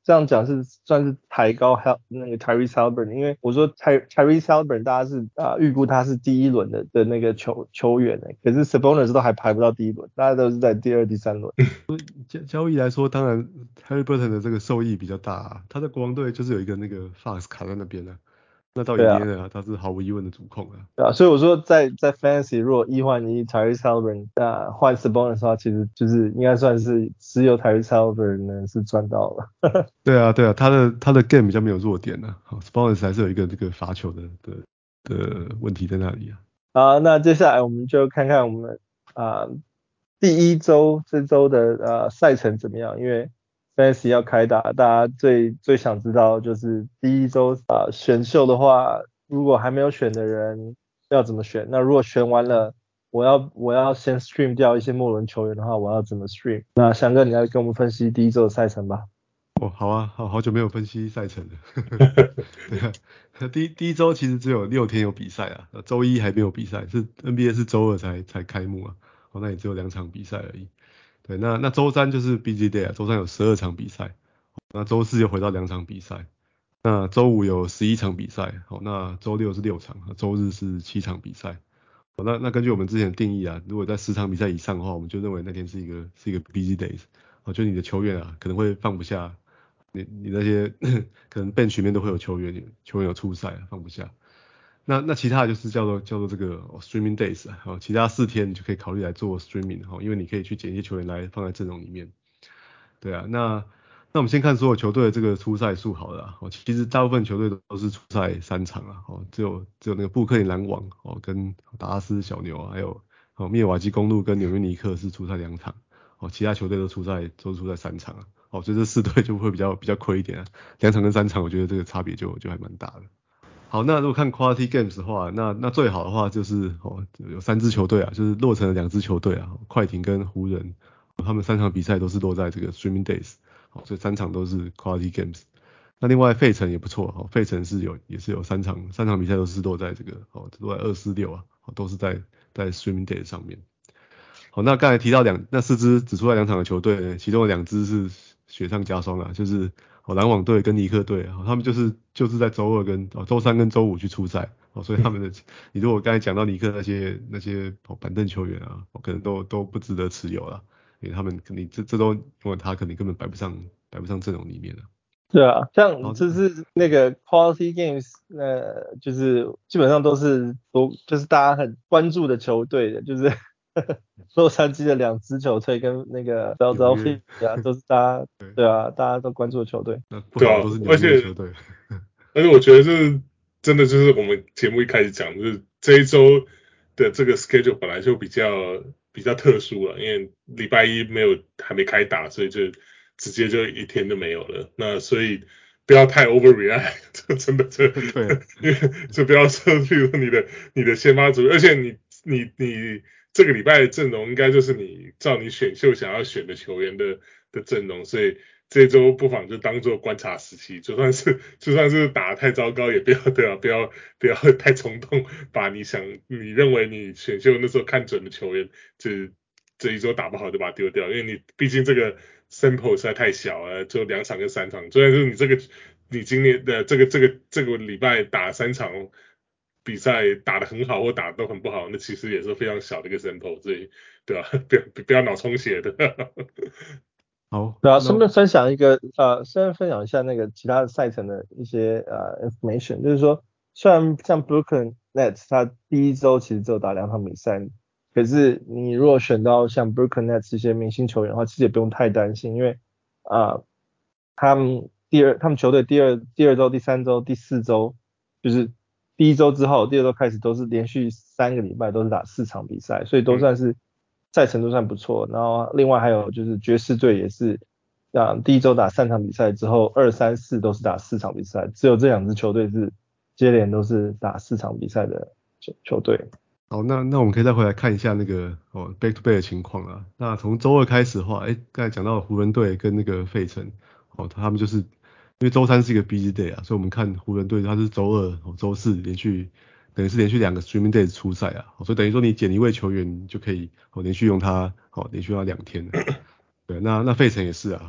這樣講是算是抬高那個 Tyrese Haliburton，因為我說 Tyrese Haliburton 大家是預估他是第一輪的那個球員可是 Sabonis 都還排不到第一輪，大家都是在第二、第三輪。 交易來說，當然 Haliburton 的這個受益比較大啊，他在國王隊就是有一個那個 Fox 卡在那邊啊。那到Indiana他是毫無疑問的主控啊。 对啊，所以我說在 Fantasy 如果1換1 Tyrese Haliburton 換 Sabonis 的話，其實就是應該算是只有 Tyrese Haliburton 呢是賺到了。 对啊，他的 game 比較沒有弱點啊。Sabonis 還是有一個這個罰球的問題在那裡啊。 好，那接下來我們就看看我們第一周這周的賽程怎麼樣，因為Fantasy 要開打，大家最想知道就是第一周選秀的話，如果還沒有選的人要怎麼選？那如果選完了，我要先 stream 掉一些末輪球員的話，我要怎麼 stream？ 那翔哥你來跟我們分析第一周的賽程吧。 好啊，好久沒有分析賽程了。對啊，第一周其實只有6天有比賽啊，周一還沒有比賽，是 NBA 是周二才開幕啊，那也只有2場比賽而已。對，那周三就是 busy day 啊，周三有12場比賽，那周四又回到2場比賽，那周五有11場比賽，那周六是6場，周日是7場比賽。那根據我們之前的定義啊，如果在10場比賽以上的話，我們就認為那天是一個 busy days，就你的球員啊可能會放不下，你那些可能 bench 裡面都會有球員有出賽放不下。那其他的就是叫做這個streaming days 啊，其他4天你就可以考慮來做 streaming 因為你可以去撿一些球員來放在陣容裡面。對啊，那我們先看所有球隊的這個出賽數好了啦。其實大部分球隊都是出賽3場啊，只有那個布克林籃網跟達拉斯小牛還有密爾瓦基公鹿跟紐約尼克是出賽2場，其他球隊都出賽3場啊。所以這4隊就會比較虧一點啊，2場跟3場我覺得這個差別就還蠻大的。好，那如果看 quality games 的話，那最好的話就是有3支球隊啊，就是落成了2支球隊啊，快艇跟湖人，他們3場比賽都是落在這個 streaming days， 所以3場都是 quality games。那另外費城也不錯，費城也是有3場比賽都是落在這個落在246啊，都是在 streaming days 上面。好，那剛才提到那4支只出來2場的球隊呢，其中的2支是雪上加霜啊，就是籃網隊跟尼克隊啊，他們就是在周三跟周五去出賽，所以他們你如果剛才講到尼克那些板凳球員啊，可能都不值得持有啦，因為他們肯定這周因為他肯定根本擺不上陣容裡面了。 對啊，像就是那個 quality games，就是基本上都是就是大家很關注的球隊的，就是洛杉磯的2支球隊跟那個 Philadelphia 都是大家对啊，大家都關注的球隊。 对啊，都是紐約球队。 而且我覺得這真的就是我們節目一開始講，就是這一周的這個 schedule 本來就比較特殊了，因為禮拜一還沒開打，所以就直接就1天都沒有了。那所以不要太 overreact， 這真的就不要說，譬如你的先發組，而且你這個禮拜的陣容應該就是照你選秀想要選的球員的陣容，所以這一周不妨就當做觀察時期，就算是打得太糟糕，也不要太衝動，把你認為你選秀那時候看準的球員，這一周打不好就把它丟掉，因為你畢竟這個 sample 實在太小了，就2場跟3場，雖然是你今年的這個禮拜打3場比賽打得很好或打得都很不好，那其實也是非常小的一個 sample， 所以對吧？不要腦充血的。 好， 对啊，順便分享一下那個其他的賽程的一些information， 就是說，雖然像 Brooklyn Nets 他第一周其實只有打2場比賽，可是你如果選到像 Brooklyn Nets 這些明星球員的話，其實也不用太擔心，因為他們球隊第二周、第3周、第4周，就是第一周之後，第2周開始都是連續3個禮拜都是打4場比賽，所以都算是賽程都算不錯。然後另外還有就是爵士隊也是，第一周打3場比賽之後，2、3、4都是打4場比賽，只有這2支球隊是接連都是打4場比賽的球隊。 好，那我們可以再回来看一下那個back to back 的情況啊。那從周二開始的話，剛才講到湖人隊跟那個費城，他們就是因為周三是一個 busy day 啊，所以我們看湖人隊他是周二、周四等於是連續2個 streaming days 出賽啊，所以等於說你撿一位球員，你就可以連續用他2天。對，那費城也是啊，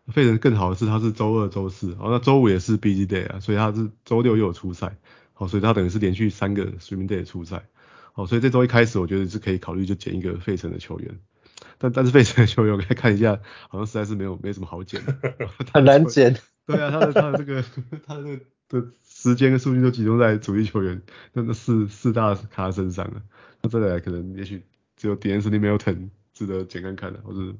費城更好的是他是週二、週四，那週五也是 busy day 啊，所以他是週六又有出賽，所以他等於是連續3個 streaming day 的出賽，所以這週一開始我覺得是可以考慮就撿一個費城的球員，但是費城的球員我看一下，好像實在是沒什麼好撿的， 很難撿。 對啊，他的時間跟數據都集中在主力球員那四大咖身上了，那再來可能也許只有 D'Anthony Melton 值得撿看看的，或是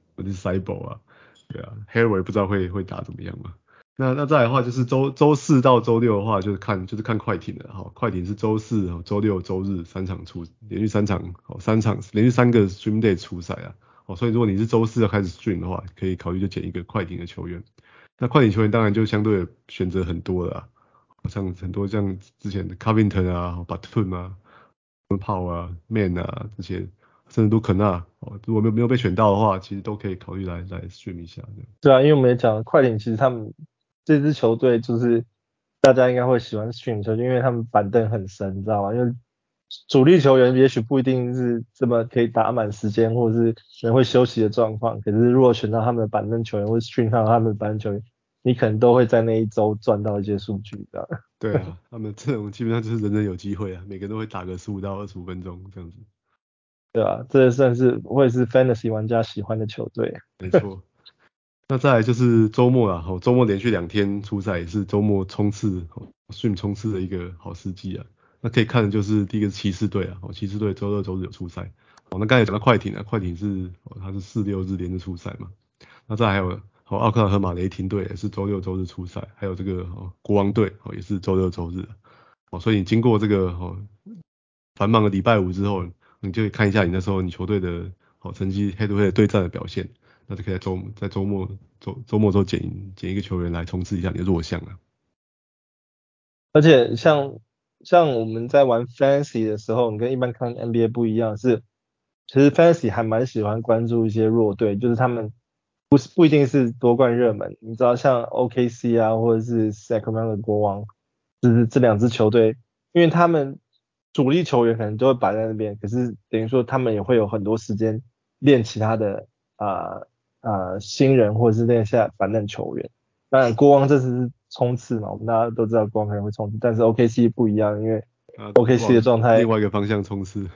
Cyborg 啊，對啊 Hayward 不知道會打怎麼樣嘛。那再來的話就是週四到週六的話就是看快艇的哈，快艇是週四、週六、週日連續3場連續3個 stream day 出賽啊，所以如果你是週四要開始 stream 的話，可以考慮就撿一個快艇的球員。那快艇球員當然就相對選擇很多了啊，像很多像之前的 Covington 啊、Batum 啊、Paul 啊、Man 啊這些，甚至都肯納，如果沒有被選到的話，其實都可以考慮來 stream 一下。 對啊，因為我們也講快艇，其實他們這支球隊就是大家應該會喜歡 stream 球，因為他們板凳很深，你知道嗎？因為主力球員也許不一定是這麼可以打滿時間，或者是人會休息的狀況。可是如果選到他們的板凳球員，或者 stream 上他們的板凳球員，你可能都會在那一周賺到一些數據，這樣。 對啊，他們這種基本上就是人人有機會啊，每個人都會打個15到25分鐘這樣子。 對啊，這算是會是 fantasy 玩家喜歡的球隊。 沒錯。那再來就是週末啦，週末連續2天出賽，也是週末衝刺stream 衝刺的一個好時機啊。那可以看的就是第一個是騎士隊啊，騎士隊週二、週日有出賽。那剛才講到快艇啊，快艇是它是4、6日連着出賽嘛。那再來還有奧克拉荷馬雷霆隊也是週六、週日出賽，還有這個國王隊也是週六、週日。所以你經過這個繁忙的禮拜五之後，你就可以看一下你那時候你球隊的成績 head to head 對戰的表現。那就可以在週末的時候撿一個球員來衝刺一下你的弱項啊。 而且像我們在玩 Fantasy 的時候，你跟一般看 NBA 不一樣，是其實 Fantasy 還蠻喜歡關注一些弱隊，就是他們不一定是奪冠熱門，你知道像 OKC 啊，或者是 Sacramento 的國王，就是這2支球隊，因為他們主力球員可能都會擺在那邊，可是等於說他們也會有很多時間練其他的新人或者是練下板凳球員。當然國王這次是衝刺嘛，我們大家都知道國王可能會衝刺，但是 OKC 不一樣，因為 OKC 的狀態另外一個方向衝刺。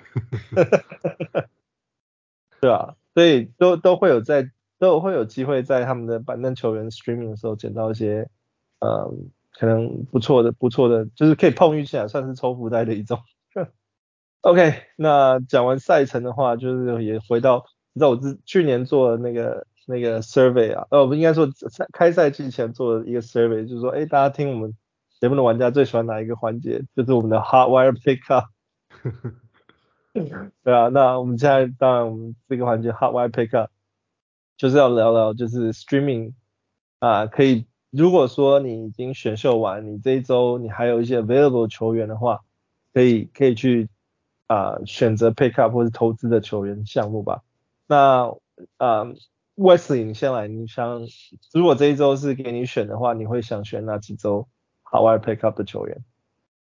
對啊，所以都會有機會在他們的板凳球員 streaming 的時候撿到一些可能不錯的，就是可以碰運氣啊，算是抽福袋的一種。OK， 那講完賽程的話，就是也回到，你知道我去年做的那個 survey 啊，不應該說開賽季前做的一個 survey， 就是說，大家聽我們節目的玩家最喜歡哪一個環節？就是我們的 hot wire pickup。對啊，那我們現在當然我們這個環節 hot wire pickup 就是要聊聊就是 streaming 可以，如果說你已經選秀完，你這一周你還有一些 available 球員的話，可以去選擇 pick up 或是投資的球員項目吧。那Wesley 你先來，你想如果這一周是給你選的話，你會想選哪幾周 hot wire pick up 的球員？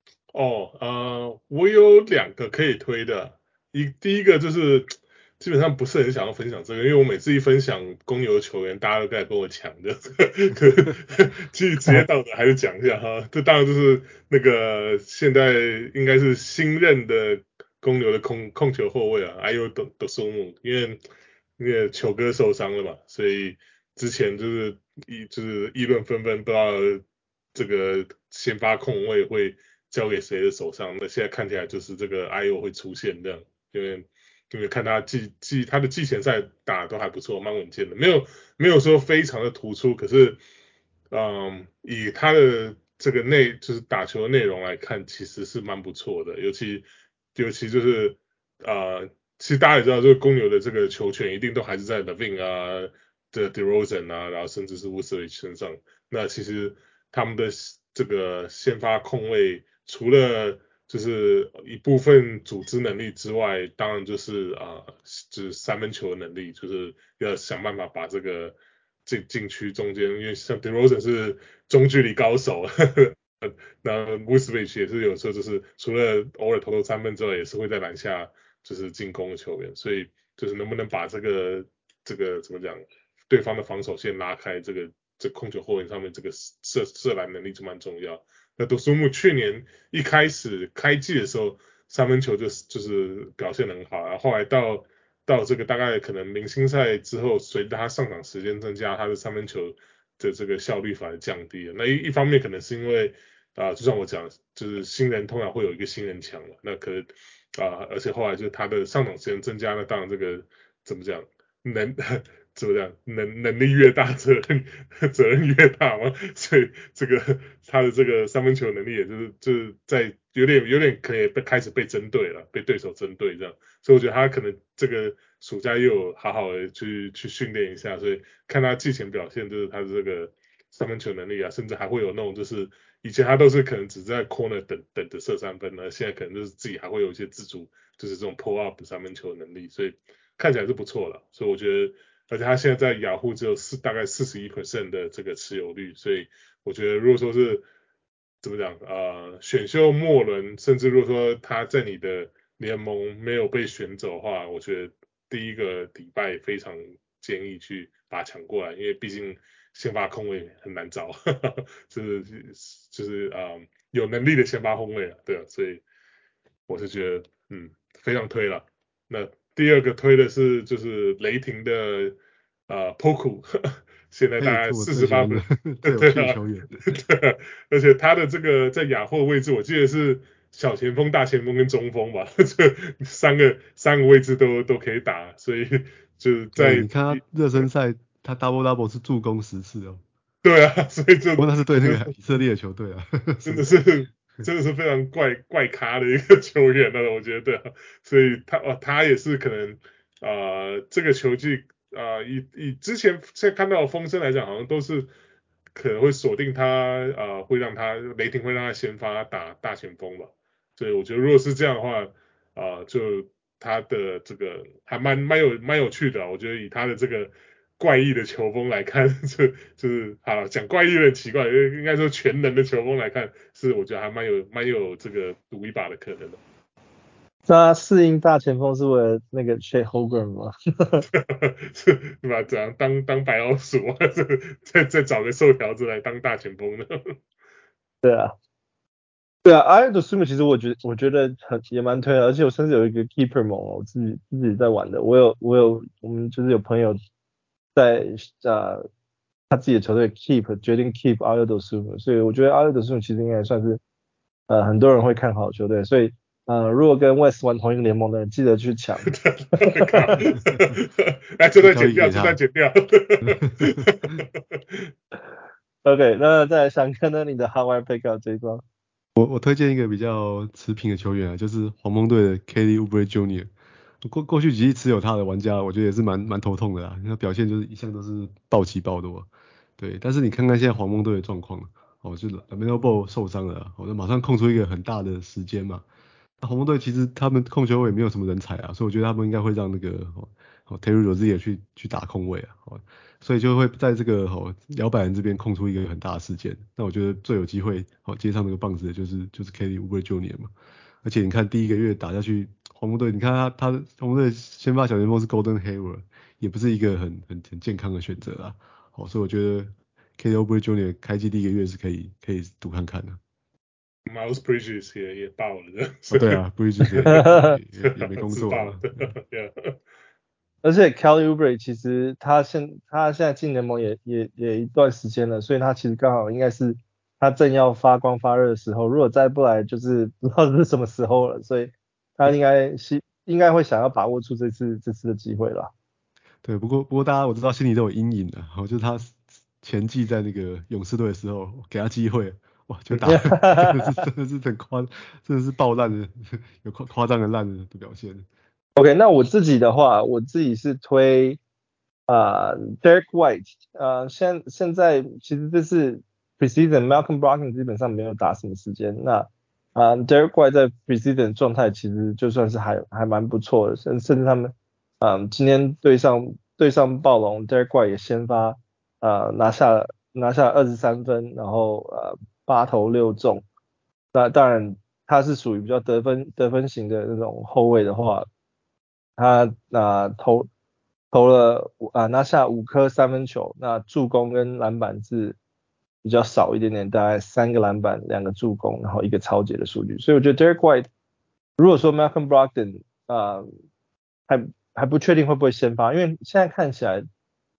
我有2個可以推的，第一個就是基本上不是很想要分享這個，因為我每次一分享公牛的球員，大家都開始跟我搶的，其實職業道德還是講一下哈。這當然就是那個現在應該是新任的公牛的控球後衛啊，Ayo Dosunmu，因為那個球哥受傷了嘛，所以之前就是議論紛紛，不知道這個先發控衛會交給誰的手上。那現在看起來就是這個 Ayo 會出現這樣，因為看他他的季前賽打都還不錯，蠻穩健的，沒有說非常的突出，可是以他的這個就是打球的內容來看，其實是蠻不錯的，尤其就是其實大家也知道，這個公牛的這個球權一定都還是在 LaVine 啊、DeRozan 啊，然後甚至是 Vucevic 身上。那其實他們的這個先發控衛，除了就是一部分組織能力之外，當然就是就是三分球的能力，就是要想辦法把這個禁區中間，因為像 DeRozan 是中距離高手，那 Vucevic 也是有時候就是除了偶爾投三分之外，也是會在籃下就是進攻的球員，所以就是能不能把這個怎麼講對方的防守線拉開，這控球後衛上面這個射籃能力就蠻重要。那多蘇木去年一開始開季的時候，三分球就是表現得很好，然後後來到這個大概可能明星賽之後，隨着他上場時間增加，他的三分球的這個效率反而降低了。那一方面可能是因為就像我講，就是新人通常會有一個新人牆嘛，那可能而且後來就是他的上场時間增加，那當然这個怎麼講怎麼講能力越大，責任越大嘛，所以這個他的這個三分球能力也就是在有點可以開始被針對了，被對手針對這樣，所以我覺得他可能這個暑假又有好好的去訓練一下，所以看他季前表現，就是他的這個三分球能力啊，甚至還會有那種就是以前他都是可能只在 corner 等着射三分呢，現在可能就是自己還會有一些自主，就是這種 pull up 三分球能力，所以看起來是不錯了，所以我覺得。而且他現在在雅虎只有大概41% 的這個持有率，所以我覺得如果說是怎麼講選秀末輪，甚至如果說他在你的聯盟沒有被選走的話，我覺得第一個禮拜非常建議去把他搶過來，因為畢竟先發控衛很難找，就是有能力的先發控衛啊，對啊，所以我是覺得非常推了。那第二個推的是就是雷霆的Poku， 現在大概48分， 對啊，球員对啊，而且他的這個在亞貨位置，我記得是小前鋒、大前鋒跟中鋒吧，這三個位置都可以打，所以就是在你看他熱身賽，他 double 是助攻10次哦。 對啊，所以就不过那是對那個以色列的球隊啊， 真的是非常怪咖的一個球員了，我覺得，所以他也是可能這個球季以之前看到的風聲來講，好像都是可能會鎖定他會讓他雷霆會讓他先發打大前鋒吧，所以我覺得如果是這樣的話就他的這個還蠻有趣的，我覺得以他的這個怪異的球風來看，就是好講怪異有點奇怪，應該說全能的球風來看，是我覺得還蠻有這個賭一把的可能的。 他適應大前鋒是為了那個 Chet Holmgren 嗎？ 是吧？怎樣當白老鼠啊？再找個瘦條子來當大前鋒呢？對啊 ，Ayo Dosunmu 其實我覺得也蠻推的，而且我甚至有一個 Keeper 盟，我自己在玩的，我們就是有朋友在他自己的球隊決定 keep Ayo Dosunmu，所以我覺得 Ayo Dosunmu 其實應該也算是很多人會看好的球隊，所以如果跟 West 玩同一個聯盟的人，記得去搶。 來，這段剪掉。 OK， 那再來想看到你的 Howard Pickup 這一張。 我推薦一個比較持平的球員啊，就是黃蜂隊的 Kelly Oubre Jr. 過去幾季持有他的玩家，我覺得也是蠻頭痛的啦，他表現就是一向都是暴起暴落。對，但是你看看現在黃蜂隊的狀況，就是 LaMelo Ball 受傷了，就馬上空出一個很大的時間嘛。那黃蜂隊其實他們控球位沒有什麼人才啊，所以我覺得他們應該會讓那個Terry Rozier 去打控位啊，所以就會在這個搖擺人這邊空出一個很大的時間。那我覺得最有機會接上那個棒子的就是 Kelly Oubre Jr. 嘛。而且你看第一個月打下去，黃蜂隊你看他黃蜂隊先發小前鋒是 Gordon Hayward， 也不是一個很健康的選擇啊。所以我覺得 Kelly Oubre Jr. 開季第一個月是可以賭看看的。 Miles Bridges 也爆了， 對啊 ，Bridges 也沒工作了。 而且 Kelly Oubre 其實他現在進聯盟也一段時間了，所以他其實剛好應該是他正要發光發熱的時候，如果再不來就是不知道是什麼時候了，所以他應該會想要把握住這次的機會啦。 對，不過大家我知道心裡都有陰影的，就是他前季在那個勇士隊的時候給他機會。哇，就打真的是很真的是爆爛的，有誇張的爛的表現。 OK， 那我自己的話，我自己是推Derek White， 現在其實這是 preseason Malcolm Brogdon 基本上沒有打什麼時間，那Derek White 在 preseason 狀態其實就算是還蠻不錯的，甚至他們今天對上暴龍 Derek White 也先發拿下23分，然後8投6中，那當然他是屬於比較得分型的那種後衛的話，他投了拿下5顆三分球，那助攻跟籃板是比較少一點點，大概3個籃板2個助攻，然後1個抄截的數據。所以我覺得 Derek White 如果說 Malcolm Brogdon 還不確定會不會先發，因為現在看起來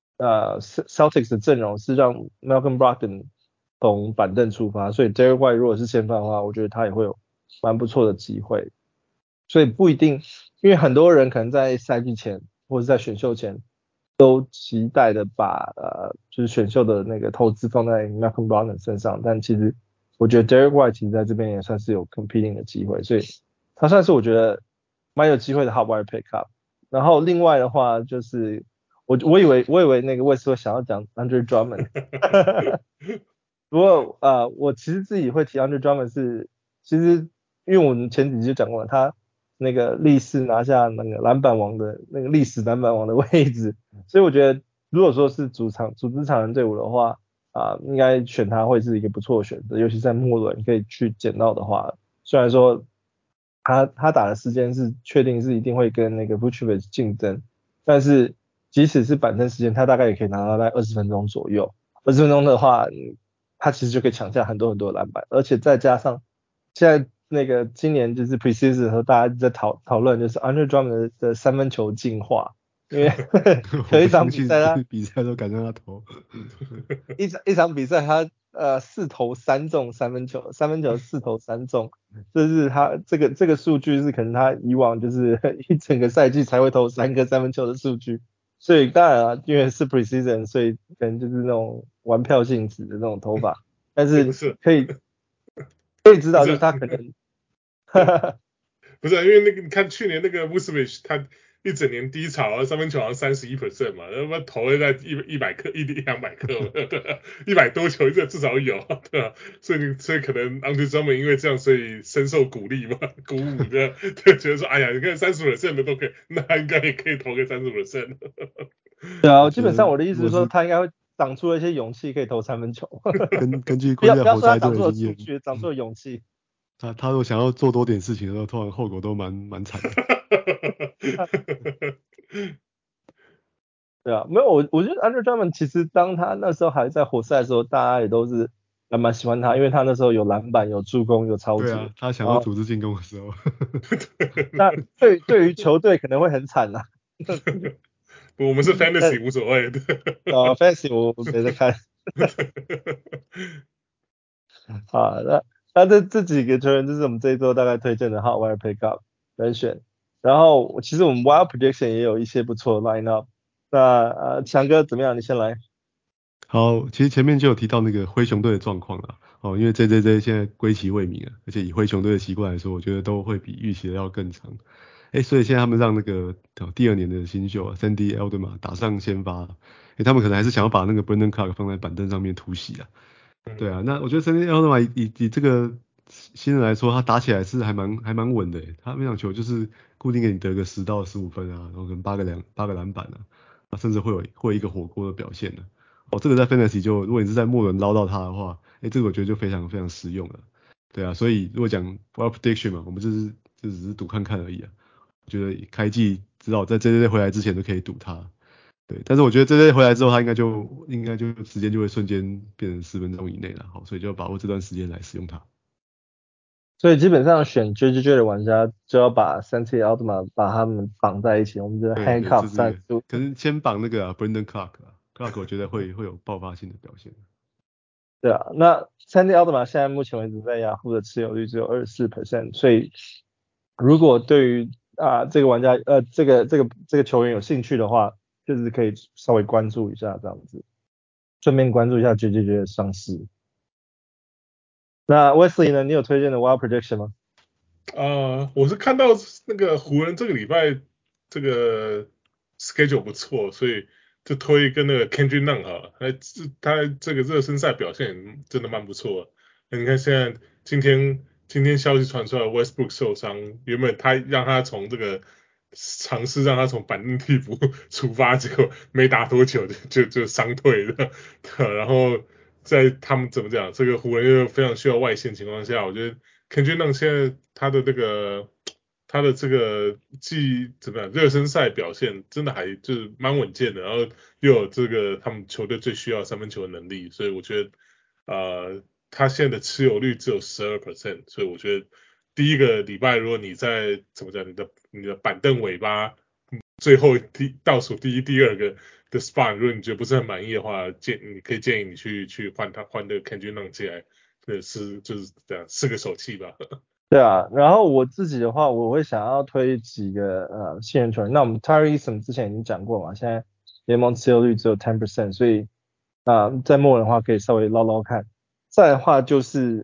Celtics 的陣容是讓 Malcolm Brogdon 從板凳出發，所以 Derek White 如果是先發的話，我覺得他也會有蠻不錯的機會。所以不一定，因為很多人可能在賽季前或者在選秀前都期待的把就是選秀的那個投資放在 Malcolm Brogdon 身上，但其實我覺得 Derek White 其實在這邊也算是有 competing 的機會，所以他算是我覺得蠻有機會的 hot wire pickup。然後另外的話就是我以為那個Wes會想要講 Andre Drummond， 不過我其實自己會提 Andre Drummond 是其實因為我們前幾集就講過了，他那個歷史拿下那個籃板王的那個歷史籃板王的位置，所以我覺得如果說是組織常人隊伍的話應該選他會是一個不錯的選擇，尤其在末輪可以去撿到的話，雖然說他打的時間是確定是一定會跟那個 Vucevic 競爭，但是即使是板凳時間，他大概也可以拿到在20分鐘左右。20分鐘的話，他其實就可以搶下很多很多的籃板，而且再加上現在那個今年就是 preseason 的時候，大家在討論就是 Andre Drummond 的三分球進化，因為有一場比賽都敢讓他投， 一場比赛他4投3中三分球4投3中，這是他這個數據是可能他以往就是一整個賽季才會投3個三分球的數據，所以當然因為是 preseason， 所以可能就是那種玩票性質的那種投法，但是可以知道就是他可能不是因為那個你看去年那個 Vucevic 他一整年低潮，三分球好像31%嘛，他媽投了在100顆200顆，100多球這至少有，對吧？所以可能 Andre Drummond 因為這樣，所以深受鼓勵嘛，鼓舞的，就覺得說，哎呀，你看30%的都可以，那應該也可以投個30%。 對啊，基本上我的意思是說，他應該會長出了一些勇氣，可以投三分球。 根据不要說他長出了数据，長出了勇气。 他如果想要做多點事情的时候，通常後果都蠻慘的。 對啊，沒有我覺得 Andre Drummond 其實當他那時候還在活塞的時候，大家也都是還蠻喜歡他，因為他那時候有籃板、有助攻、有抄截。 對啊，他想要組織進攻的時候。 那對於球隊可能會很慘啊。 不，我們是 Fantasy 無所謂的。 Fantasy 我沒在看。好，那這幾個球員就是我們這一周大概推薦的 Hot Wire Pickup 人選。然後其實我們 Wild Prediction 也有一些不錯的 Lineup。那強哥怎麼樣？你先來。 好，其實前面就有提到那個灰熊隊的狀況啦。因為 JJJ 現在歸期未明啊，而且以灰熊隊的習慣來說，我覺得都會比預期的要更長。所以現在他們讓那個第2年的新秀Sandy Aldama 打上先發，他們可能還是想要把那個 Brandon Clarke 放在板凳上面突襲啊。對啊，那我覺得 Sandy Aldama 以這個新人來說，他打起來是還蠻穩的。他每場球就是固定給你得個10到15分啊，然後可能8個籃板啊，甚至會有一個火鍋的表現呢。這個在 Fantasy 就如果你是在末輪撈到他的話，這個我覺得就非常非常實用了。對啊，所以如果講 Wild Prediction 嘛，我們就只是賭看看而已啊。我覺得開季至少在 JJJ 回來之前都可以賭他。對，但是我覺得 JJJ 回來之後，他應該就時間就會瞬間變成10分鐘以內了。好，所以就要把握這段時間來使用它。 所以基本上選 JJJ 的玩家就要把Sandy Aldama 把他們綁在一起，我們就 handcuff 戰術。 可是先綁那個Brandon Clarke 我覺得會有爆發性的表現。 對啊，那 Sandy Aldama 現在目前為止在雅虎的持有率只有 24%， 所以如果對於這個玩家這個球員有興趣的話，就是可以稍微關注一下這樣子，順便關注一下 JJJ 的上市。那 Wesley 呢？你有推薦的 Wild Prediction 嗎？ 我是看到那個湖人這個禮拜這個 schedule 不錯，所以就推跟那個 Kendrick Nunn 哈，他這個熱身賽表現真的蠻不錯的。你看現在今天消息傳出來 ，Westbrook 受傷，原本他讓他從這個嘗試讓他從板凳替補出發，結果沒打多久就傷退了，然後在他們怎麼講，這個湖人又非常需要外線情況下，我覺得 Kendrick Nunn 現在他的這個他的這個怎麼樣熱身賽表現真的還就是蠻穩健的，然後又有這個他們球隊最需要三分球的能力，所以我覺得他現在的持有率只有12%，所以我覺得第一個禮拜如果你在怎麼講你的板凳尾巴最後倒數第一第二個的 spot， 如果你覺得不是很滿意的話，你可以建議你去換那個 Kendrick Nunn 進來，就是這樣試個手氣吧。 對啊，然後我自己的話，我會想要推幾個新人球员。那我們 Tari Eason 之前已經講過嘛，現在聯盟持有率只有 10%， 所以在末人的話可以稍微撈撈看。再來的話就是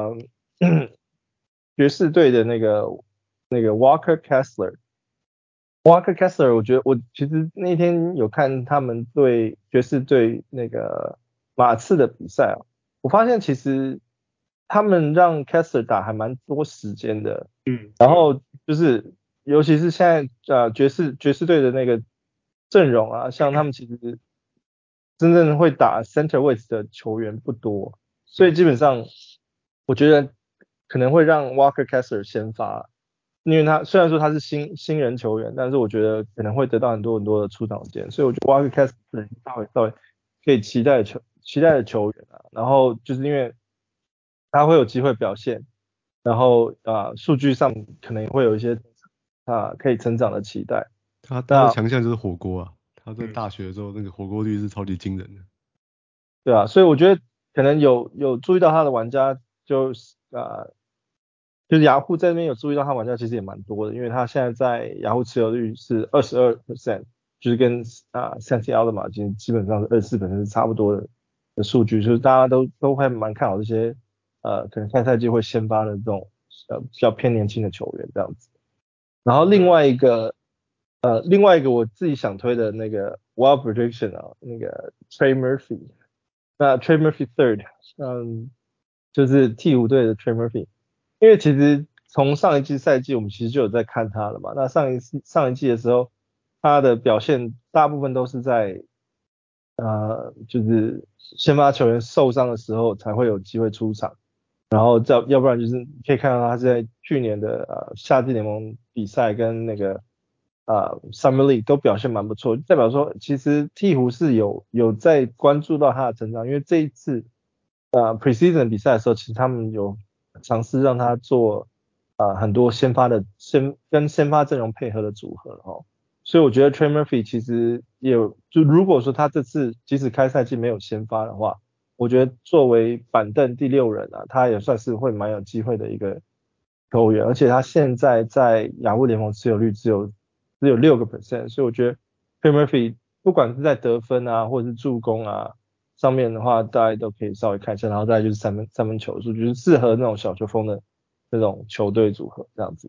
爵士隊的那個 Walker Kessler， 我覺得我其實那天有看他們对爵士队那個馬刺的比賽啊，我發現其實他們讓 Kessler 打還蠻多時間的，然後就是尤其是現在爵士隊的那個陣容啊，像他們其實真正會打 center 位置的球員不多，所以基本上我覺得可能會讓 Walker Kessler 先發，因為他雖然說他是新人球員，但是我覺得可能會得到很多的出場时間，所以我覺得 Walker Kessler 是稍微可以期待的球員啊，然後就是因為他会有機會表现，然後數據上可能會有一些可以成長的期待。 他的強項就是火鍋啊，他在大學的時候那個火鍋率是超級驚人的。 對啊，所以我覺得可能有注意到他的玩家就是雅虎在那邊有注意到他玩家其實也蠻多的，因為他現在在雅虎持有率是 22%， 就是跟Santi Aldama 基本上是 24% 是差不多的數據，就是大家都會蠻看好這些可能下賽季會先發的這種比較偏年輕的球員這樣子。然後另外一個我自己想推的那個 Wild Prediction 啊，那個 Trey Murphy， 那 Trey Murphy third， 就是鹈鶘隊的 Trey Murphy， 因為其實從上一季賽季我們其實就有在看他了嘛，那上一季的時候他的表現大部分都是在就是先發球員受傷的时候才会有機會出場，然後要不然就是你可以看到他是在去年的夏季聯盟比賽跟那個Summer League 都表現蠻不錯，代表說其實鹈鶘是有在關注到他的成長，因為這一次Preseason 比賽的時候，其實他們有嘗試讓他做很多跟先發陣容配合的組合哦。所以我覺得 Trey Murphy 其實就如果說他這次即使開賽季沒有先發的話，我覺得作為板凳第6人啊，他也算是會蠻有機會的一個球員，而且他現在在雅虎聯盟持有率只有 6%， 所以我覺得 Trey Murphy 不管是在得分啊或者是助攻啊上面的話，大家都可以稍微看一下，然後再來就是三分球數，就是適合那種小球風的那種球隊組合這樣子。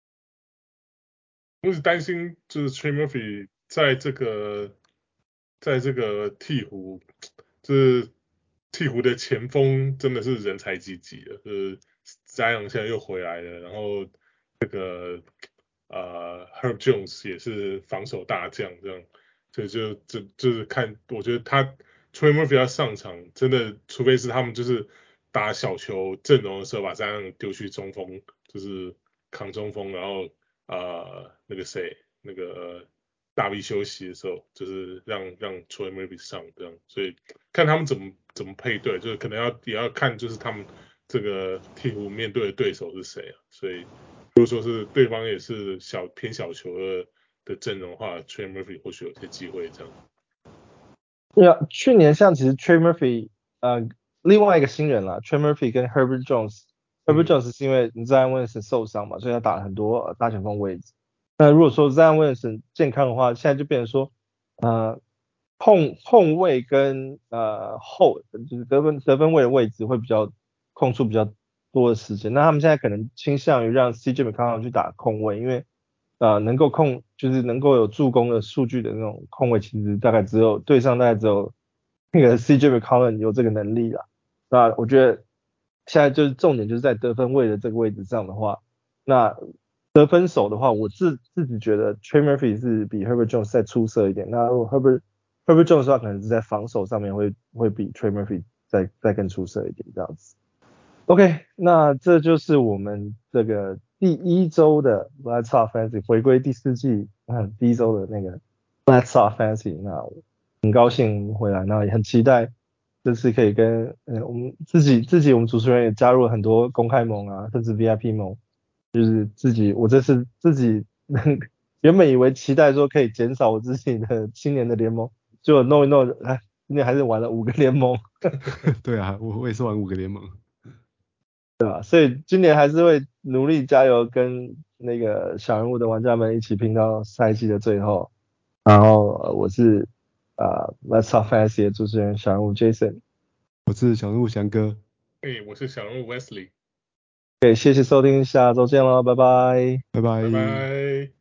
我是擔心就是 Trey Murphy 在這個鹈鶘，就是鹈鶘的前鋒真的是人才濟濟了，就是 Zion 現在又回來了，然後這個Herb Jones 也是防守大將，這樣就是看，我覺得他 Trey Murphy 要上場，真的除非是他們就是打小球陣容的時候把Zion丟去中鋒，就是扛中鋒，然後那個大 V 休息的時候，就是讓 Trey Murphy 上這樣，所以看他們怎麼配對，就是可能也要看就是他們這個鹈鶘面對的對手是誰啊，所以如果說是對方也是偏小球的陣容的話 ，Trey Murphy 或許有些機會這樣。 對啊，去年像其實 Trey Murphy 另外一個新人啦 Trey Murphy 跟 Herbert Jones。Herbert Jones 是因為 Zion Williamson 受傷嘛，所以他打了很多大前鋒位置。那如果說 Zion Williamson 健康的話，現在就變成說控衛跟就是得分位的位置会空出比較多的時間。那他們現在可能傾向於讓 CJ McCollum 去打控衛，因為能夠就是能夠有助攻的數據的那種控卫，其實隊上大概只有那個 CJ McCollum 有這個能力啦。那我覺得現在就是重點就是在得分位的這個位置上的話，那得分手的話，我自己覺得 Trey Murphy 是比 Herbert Jones 再出色一點。那如果 Herbert Jones 的話，可能是在防守上面會比 Trey Murphy 再更出色一點這樣子。OK， 那這就是我們這個第一周的 Let's Talk Fantasy 回歸第4季第一周的那個 Let's Talk Fantasy， 那很高興回來，那也很期待這次可以跟我們自己我們主持人也加入了很多公開盟啊，甚至 VIP 盟，就是我這次自己原本以為期待說可以減少我自己的青年的聯盟，結果弄一弄，今年還是玩了5個聯盟。 對啊，我也是玩5個聯盟。 對吧？所以今年還是會努力加油，跟那個小人物的玩家們一起拼到賽季的最後。然後我是Let's Talk Fantasy 的主持人小人物 Jason， 我是小人物翔哥， 我是小人物 Wesley。 謝謝收聽，下周見嘍，拜拜， 拜拜。 拜拜。